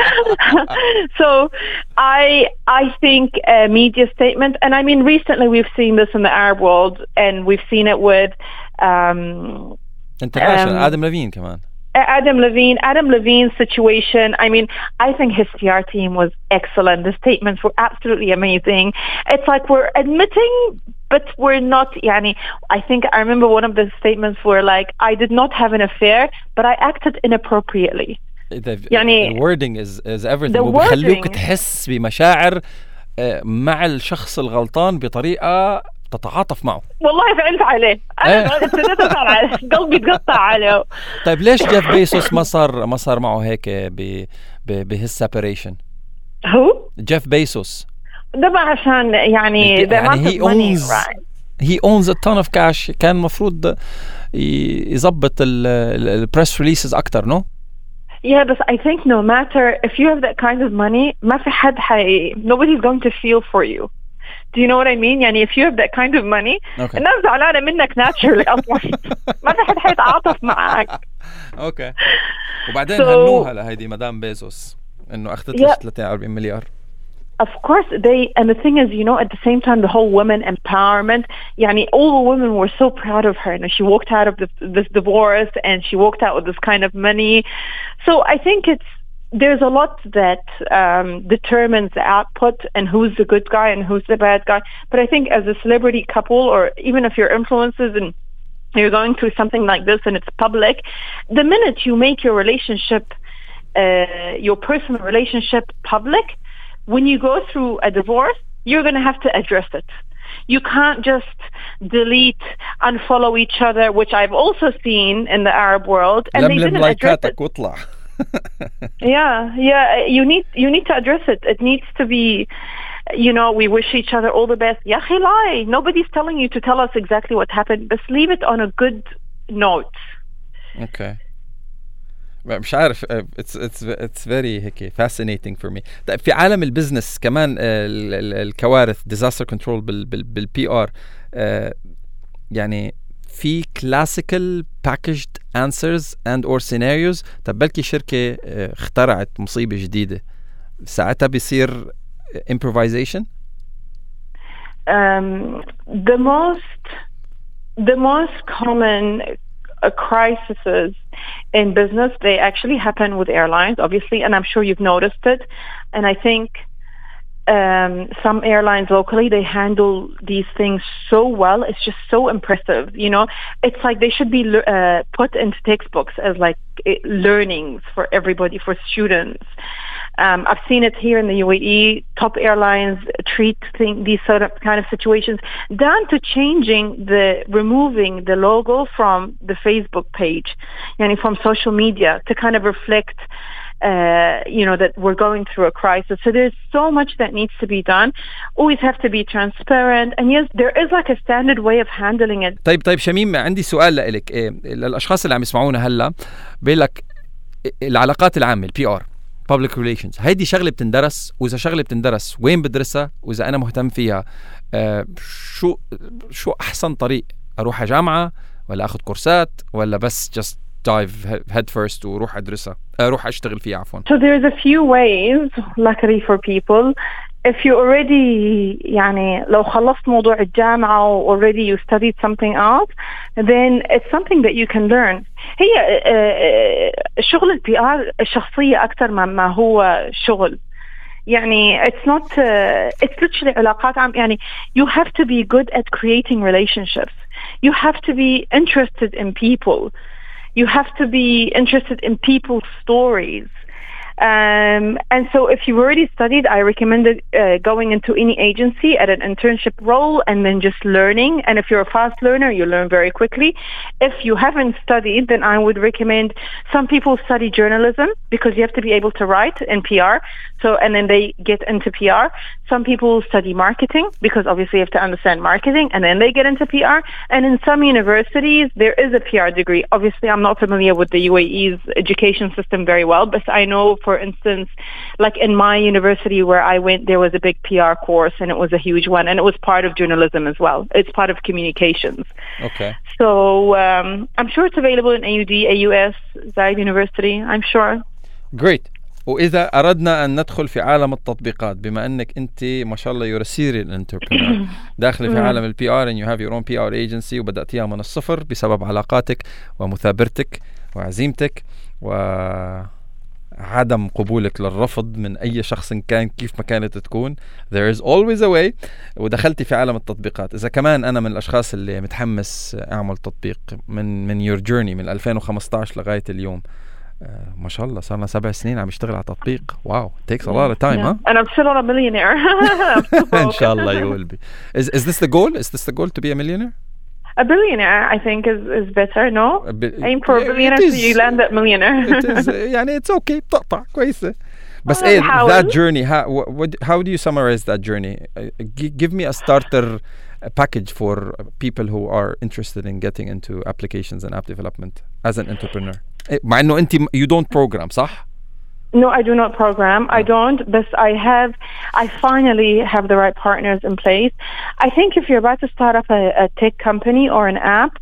[SPEAKER 2] So I I think a media statement, and I mean recently we've seen this in the Arab world, and we've seen it with um,
[SPEAKER 1] international um, Adam Levine, come on.
[SPEAKER 2] Adam Levine, Adam Levine's situation. I mean, I think his P R team was excellent. The statements were absolutely amazing. It's like we're admitting, but we're not. Yani, I think I remember one of the statements were like, "I did not have an affair, but I acted inappropriately."
[SPEAKER 1] The, يعني, the wording is is everything. وبخلوك تحس بمشاعر مع الشخص الغلطان بطريقة تتعاطف معه.
[SPEAKER 2] والله فعلت عليه. أنا ابتديت أزعل عليه. قلبي تقطع عليه.
[SPEAKER 1] طيب ليش جيف بيسوس ما صار ما صار معه هيك ب ب بهis separation؟
[SPEAKER 2] هو؟
[SPEAKER 1] جيف بيسوس.
[SPEAKER 2] ده بقى عشان يعني
[SPEAKER 1] يعني he owns he owns a ton of cash. كان مفروض يضبط ال press releases أكتر no؟
[SPEAKER 2] Yeah, but I think no matter if you have that kind of money, ما في حد حي nobody's going to feel for you. Do you know what I mean? يعني if you have that kind of money,
[SPEAKER 1] okay.
[SPEAKER 2] الناس زعلانة منك naturally أصلاً. ما في حد حيتعاطف معك.
[SPEAKER 1] أوكي. وبعدين so, هنوها لهيدي مدام بيزوس إنه أخذت لها ثلاثين وأربعين مليار.
[SPEAKER 2] Of course, they, and the thing is, you know, at the same time, the whole women empowerment, yani, all the women were so proud of her. And she walked out of the, this divorce and she walked out with this kind of money. So I think it's, there's a lot that um, determines the output and who's the good guy and who's the bad guy. But I think as a celebrity couple, or even if you're influencers and you're going through something like this and it's public, the minute you make your relationship, uh, your personal relationship public, when you go through a divorce, you're going to have to address it. You can't just delete, unfollow each other, which I've also seen in the Arab world, and they didn't address it. yeah, yeah. You need you need to address it. It needs to be, you know, we wish each other all the best. Ya akhi, lie. Nobody's telling you to tell us exactly what happened. Just leave it on a good note.
[SPEAKER 1] Okay. مش عارف it's it's it's very هيك fascinating for me. طيب في عالم البزنس كمان الكوارث disaster control بال بال بالبي ار يعني في classical packaged answers and or scenarios. طب بلكي شركة اخترعت مصيبة جديدة ساعتها بيصير improvisation.
[SPEAKER 2] Um, the most the most common Uh, crises in business, they actually happen with airlines, obviously, and I'm sure you've noticed it. And I think um, some airlines locally, they handle these things so well. It's just so impressive. You know, it's like they should be uh, put into textbooks as like it, learnings for everybody, for students. Um, I've seen it here in the U A E. Top airlines treat thing, these sort of kind of situations down to changing the, removing the logo from the Facebook page, yani from social media, to kind of reflect, uh, you know, that we're going through a crisis. So there's so much that needs to be done. Always have to be transparent. And yes, there is like a standard way of handling it.
[SPEAKER 1] طيب طيب شميم، عندي سؤال لك. إيه للأشخاص اللي عم يسمعونا هلا، بيقول لك العلاقات العامة البي ار public relations، هيدي شغلة بتندرس، وإذا شغلة بتندرس وين بدرسها، وإذا أنا مهتم فيها آه شو شو أحسن طريق؟ أروح جامعة ولا أخذ كورسات ولا بس just dive head first وروح أدرسها أروح أشتغل فيها عفوا.
[SPEAKER 2] So there's a few ways, luckily for people. If you already يعني لو خلصت موضوع الجامعة و already you studied something else, then it's something that you can learn. هي شغل البي آر الشخصية أكثر ما هو شغل. يعني it's not uh, it's literally علاقات عام. يعني you have to be good at creating relationships. You have to be interested in people. You have to be interested in people's stories. Um, and so if you've already studied, I recommend uh, going into any agency at an internship role and then just learning. And if you're a fast learner, you learn very quickly. If you haven't studied, then I would recommend, some people study journalism because you have to be able to write in P R. So, and then they get into P R. Some people study marketing because obviously you have to understand marketing, and then they get into P R. And in some universities, there is a P R degree. Obviously, I'm not familiar with the U A E's education system very well, but I know, for instance, like in my university where I went, there was a big P R course, and it was a huge one, and it was part of journalism as well. It's part of communications.
[SPEAKER 1] Okay.
[SPEAKER 2] So um, I'm sure it's available in A U D, A U S, Zayed University, I'm sure.
[SPEAKER 1] Great. وإذا أردنا أن ندخل في عالم التطبيقات، بما أنك أنت ما شاء الله you're a serial entrepreneur داخل في عالم البي آر and you have your own P R agency وبدأتيها من الصفر بسبب علاقاتك ومثابرتك وعزيمتك وعدم قبولك للرفض من أي شخص كان كيف ما كانت تكون. There is always a way. ودخلتي في عالم التطبيقات. إذا كمان أنا من الأشخاص اللي متحمس أعمل تطبيق من من your journey من ألفين وخمسطعش لغاية اليوم. Uh, ما شاء الله صارنا سبع سنين عم يشتغل على تطبيق. Wow, it takes a lot of time,
[SPEAKER 2] yeah.
[SPEAKER 1] huh?
[SPEAKER 2] And I'm still not a millionaire.
[SPEAKER 1] Inshallah, you will be. Is is this the goal? Is this the goal to be a millionaire?
[SPEAKER 2] A billionaire, I think, is is better. No,
[SPEAKER 1] bi-
[SPEAKER 2] aim for a billionaire so you land that millionaire.
[SPEAKER 1] It is. يعني it's okay. بتقطع كويسة. بس إيه that journey? How what, how do you summarize that journey? Uh, g- give me a starter package for people who are interested in getting into applications and app development as an entrepreneur. مع إنه أنت you don't program صح؟
[SPEAKER 2] No, I do not program. I don't, but I have, I finally have the right partners in place. I think if you're about to start up a, a tech company or an app,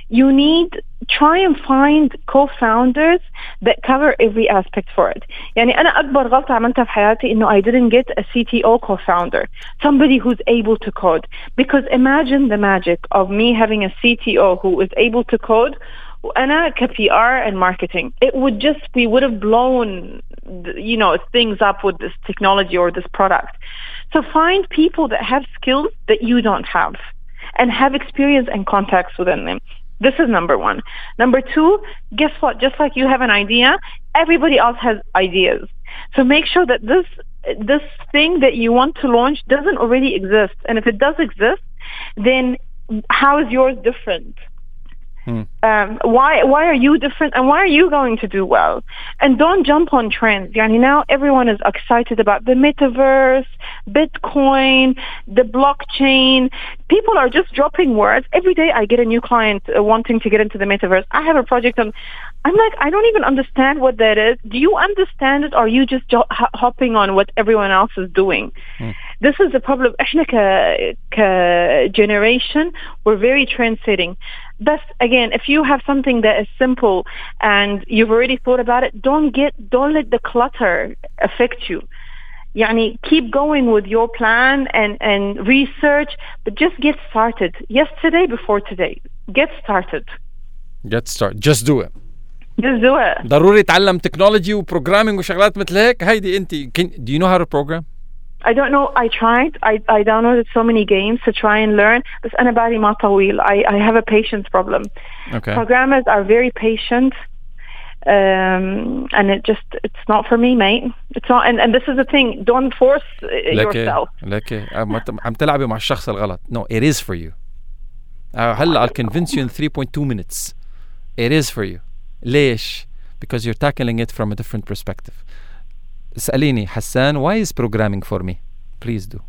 [SPEAKER 2] you need try and find co-founders that cover every aspect for it. يعني أنا أكبر غلطة عملتها في حياتي إنه I didn't get a C T O co-founder, somebody who's able to code. Because imagine the magic of me having a C T O who is able to code. وأنا ك P R and marketing, it would just, we would have blown, you know, things up with this technology or this product. So find people that have skills that you don't have and have experience and contacts within them. This is number one. Number two, guess what? Just like you have an idea, everybody else has ideas. So make sure that this this thing that you want to launch doesn't already exist. And if it does exist, then how is yours different? Hmm. Um, why why are you different, and why are you going to do well? And don't jump on trends. Yani now everyone is excited about the metaverse, Bitcoin, the blockchain. People are just dropping words. Every day I get a new client uh, wanting to get into the metaverse. I have a project and I'm like, I don't even understand what that is. Do you understand it, or are you just jo- hopping on what everyone else is doing? Hmm. This is the problem. احنا ك ك generation, we're very trend setting. But again, if you have something that is simple and you've already thought about it, don't get, don't let the clutter affect you. Yani, keep going with your plan and, and research, but just get started. Yesterday before today. Get started.
[SPEAKER 1] Get started. Just do it.
[SPEAKER 2] Just do it.
[SPEAKER 1] ضروري تعلم تكنولوجي وبروجرامينج وشغلات مثل هيك. هيدي انت. Do you know how to program?
[SPEAKER 2] I don't know. I tried. I I downloaded so many games to try and learn. بس أنا بالي ما طويل. I I have a patience problem.
[SPEAKER 1] Okay.
[SPEAKER 2] Programmers are very patient, um, and it just it's not for me, mate. It's not. And, and this is the thing. Don't force yourself.
[SPEAKER 1] لكن عم تلعبي مع الشخص الغلط. No, it is for you. هلا I'll convince you in three point two minutes. It is for you. ليش؟ Because you're tackling it from a different perspective. اسأليني حسان, why is programming for me? Please do.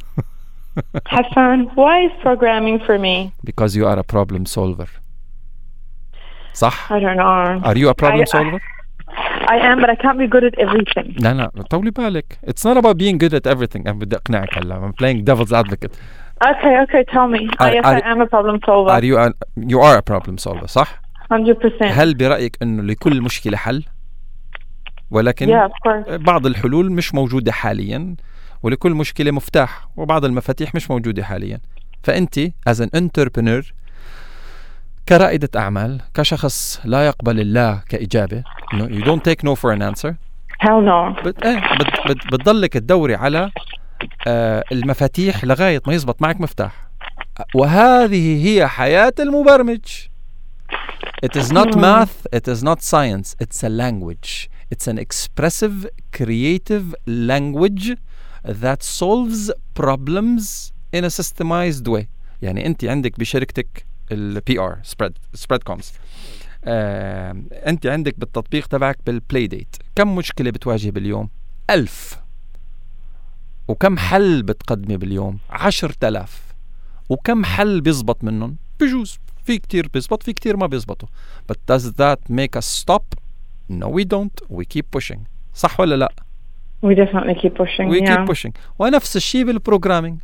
[SPEAKER 2] Hassan, why is programming for me?
[SPEAKER 1] Because you are a problem solver. صح؟
[SPEAKER 2] I don't know.
[SPEAKER 1] Are you a problem
[SPEAKER 2] I,
[SPEAKER 1] solver?
[SPEAKER 2] I am, but I can't be good at everything.
[SPEAKER 1] لا لا طولي بالك. It's not about being good at everything. أنا بدي أقنعك هلا. I'm playing devil's advocate.
[SPEAKER 2] Okay, okay, tell me.
[SPEAKER 1] Are,
[SPEAKER 2] yes,
[SPEAKER 1] are,
[SPEAKER 2] I am a problem solver.
[SPEAKER 1] Are you a, you are a problem solver, صح؟
[SPEAKER 2] one hundred percent.
[SPEAKER 1] هل برأيك إنه لكل مشكلة حل؟ ولكن
[SPEAKER 2] yeah, of course.
[SPEAKER 1] بعض الحلول مش موجودة حاليا، ولكل مشكلة مفتاح، وبعض المفاتيح مش موجودة حاليا. فأنت as an entrepreneur، كرائدة أعمال، كشخص لا يقبل الله كإجابة، no, you don't take no for an answer.
[SPEAKER 2] Hell no.
[SPEAKER 1] بت, ايه بت, بت, بتضلك تدوري على آه المفاتيح لغاية ما يزبط معك مفتاح. وهذه هي حياة المبرمج. It is not math, it is not science, it's a language. It's an expressive, creative language that solves problems in a systemized way. يعني أنت عندك بشركتك ال P R spread spreadcoms. آه، أنت عندك بالتطبيق تبعك بالبلاي ديت كم مشكلة بتواجه باليوم؟ ألف. وكم حل بتقدمي باليوم؟ عشر تلاف. وكم حل بيزبط منهم؟ بجوز في كتير بيزبط، في كتير ما بيزبطوا. But does that make us stop? No, we don't. We keep pushing. صح ولا لا؟
[SPEAKER 2] We definitely keep pushing.
[SPEAKER 1] We
[SPEAKER 2] yeah.
[SPEAKER 1] keep pushing. ونفس الشيء بالبروجرامينج.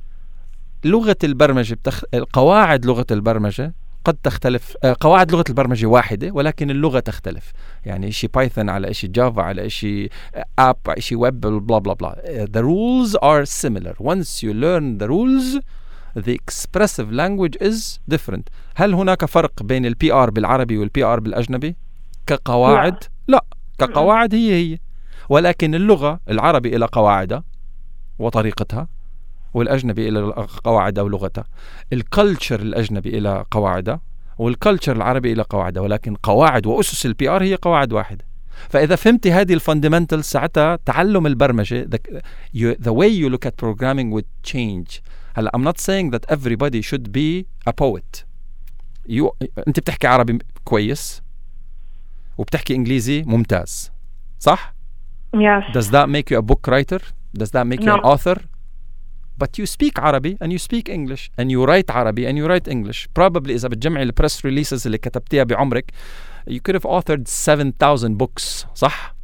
[SPEAKER 1] لغة البرمجة بتخ... قواعد لغة البرمجة قد تختلف. قواعد لغة البرمجة واحدة ولكن اللغة تختلف. يعني إشي بايثون على إشي جافا على إشي أب على إشي ويب بلا بلا بلا. The rules are similar. Once you learn the rules, the expressive language is different. هل هناك فرق بين البي آر بالعربي والبي آر بالأجنبي؟ كقواعد؟ لا. لا. كقواعد هي هي. ولكن اللغة العربي إلى قواعدها وطريقتها، والأجنبي إلى قواعدها ولغتها. الكالتشر الأجنبي إلى قواعدها، والكالتشر العربي إلى قواعدها، ولكن قواعد وأسس البي آر هي قواعد واحدة. فإذا فهمتي هذه الفاندمنتال ساعتها تعلم البرمجة the, you, the way you look at programming would change. هلا I'm not saying that everybody should be a poet. You, أنت بتحكي عربي كويس وبتحكي إنجليزي ممتاز، صح؟
[SPEAKER 2] Yes.
[SPEAKER 1] Does that make you a book writer? Does that make
[SPEAKER 2] no.
[SPEAKER 1] you an author? But you speak Arabic and you speak English and you write Arabic and you write English. Probably إذا بتجمعي البريس releases اللي كتبتيها بعمرك you could have authored seven thousand books. صح؟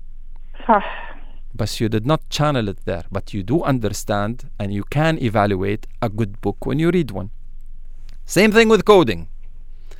[SPEAKER 2] صح.
[SPEAKER 1] But you did not channel it there. But you do understand and you can evaluate a good book when you read one. Same thing with coding.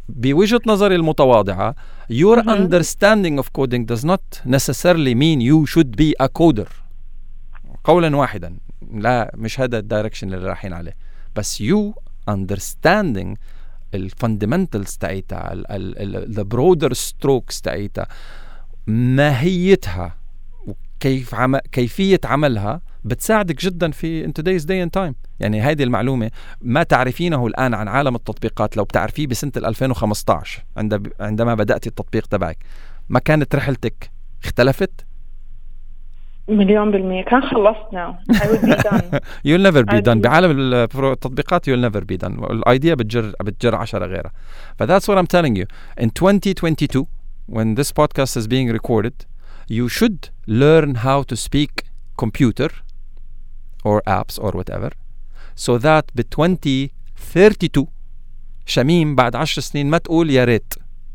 [SPEAKER 1] بوجهة نظري المتواضعة your
[SPEAKER 2] Mhm.
[SPEAKER 1] understanding of coding does not necessarily mean you should be a coder. قولا واحدا، لا مش هذا الدايركشن اللي رايحين عليه، بس you understanding الفاندمنتالز تاعتها، ال broader strokes تاعتها، ماهيتها وكيف عم... كيفية عملها بتساعدك جدا في in today's day and time. يعني هذه المعلومة ما تعرفينه الآن عن عالم التطبيقات لو بتعرفيه بسنة ألفين وخمسة عشر عند... عندما بدأت التطبيق تبعك، ما كانت رحلتك اختلفت؟
[SPEAKER 2] مليون بالمية كان خلصنا. I would be done.
[SPEAKER 1] you'll never be
[SPEAKER 2] I'd
[SPEAKER 1] done.
[SPEAKER 2] be-
[SPEAKER 1] بعالم التطبيقات you'll never be done. الايديا بتجر بتجر عشرة غيرها. ف that's what I'm telling you. In twenty twenty-two, when this podcast is being recorded, you should learn how to speak computer or apps or whatever, so that ب twenty thirty-two شميم بعد عشر سنين ما تقول يا ريت.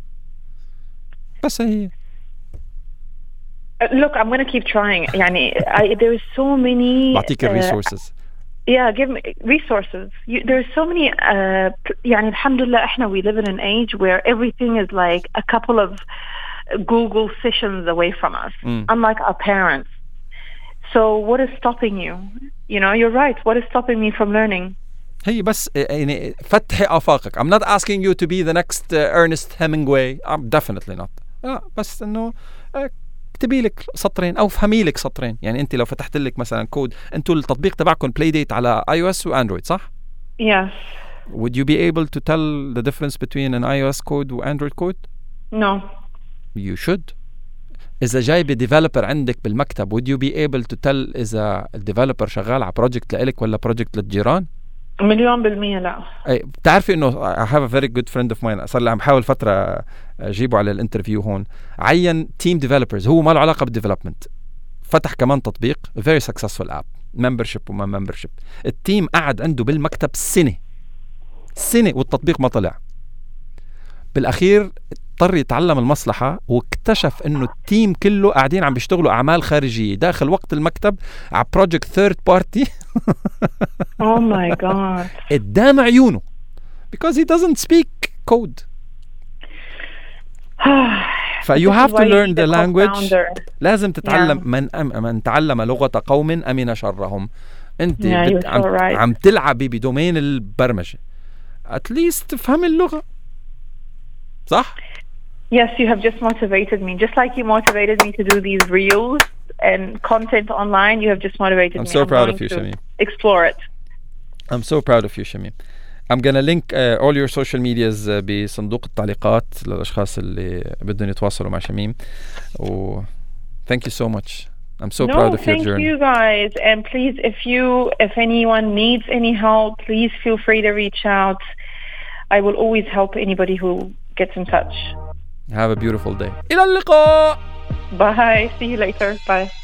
[SPEAKER 1] بس هي
[SPEAKER 2] Look, I'm going to keep trying. يعني I, there's so many.
[SPEAKER 1] بعطيك ال resources.
[SPEAKER 2] Yeah, give me resources. You, there's so many. Uh, يعني الحمد لله إحنا we live in an age where everything is like a couple of Google sessions away from us,
[SPEAKER 1] Mm.
[SPEAKER 2] unlike our parents. So what is stopping you? You know, you're right. What is stopping me from learning?
[SPEAKER 1] هي بس يعني فتحي آفاقك. I'm not asking you to be the next uh, Ernest Hemingway. I'm definitely not. لا بس إنه اكتبي لك سطرين أو فهمي لك سطرين. يعني أنت لو فتحت لك مثلا كود، أنتوا التطبيق تبعكم بلاي ديت على اي او اس واندرويد صح؟
[SPEAKER 2] Yes.
[SPEAKER 1] Would you be able to tell the difference between an iOS code وandroid code?
[SPEAKER 2] No.
[SPEAKER 1] You should. إذا جايبة developer عندك بالمكتب would you be able to tell إذا الديفلوبر شغال على project لإلك ولا project للجيران؟
[SPEAKER 2] مليون بالمية لا.
[SPEAKER 1] أي بتعرفي إنه I have a very good friend of mine صار لي عم بحاول فترة أجيبه على الانترفيو هون، عين team developers هو ما له علاقة بالديفلوبمنت، فتح كمان تطبيق very successful app membership وما membership. التيم قعد عنده بالمكتب سنة سنة والتطبيق ما طلع. بالأخير اضطر يتعلم المصلحة واكتشف انه التيم كله قاعدين عم بيشتغلوا اعمال خارجية داخل وقت المكتب على project third party.
[SPEAKER 2] Oh my God.
[SPEAKER 1] قدام عيونه because he doesn't speak code. ف you have to learn the language. لازم تتعلم.
[SPEAKER 2] Yeah.
[SPEAKER 1] من أم من تعلم لغة قوم أمن شرهم. انت
[SPEAKER 2] Yeah,
[SPEAKER 1] بت...
[SPEAKER 2] you're
[SPEAKER 1] عم...
[SPEAKER 2] so right.
[SPEAKER 1] عم تلعبي بدومين البرمجة. at least تفهم اللغة صح؟
[SPEAKER 2] Yes, you have just motivated me. Just like you motivated me to do these reels and content online, you have just motivated
[SPEAKER 1] I'm
[SPEAKER 2] me.
[SPEAKER 1] so
[SPEAKER 2] I'm
[SPEAKER 1] proud
[SPEAKER 2] going
[SPEAKER 1] of you,
[SPEAKER 2] to
[SPEAKER 1] Shamim.
[SPEAKER 2] explore it.
[SPEAKER 1] I'm so proud of you, Shamim. I'm gonna link uh, all your social medias uh, بصندوق التعليقات للأشخاص اللي بدهم يتواصلوا مع شميم. و thank you so much. I'm so
[SPEAKER 2] no,
[SPEAKER 1] proud of your
[SPEAKER 2] thank
[SPEAKER 1] journey.
[SPEAKER 2] you guys. And please, if you, if anyone needs any help, please feel free to reach out. I will always help anybody who gets in touch.
[SPEAKER 1] Have a beautiful day. إلى اللقاء.
[SPEAKER 2] Bye. See you later. Bye.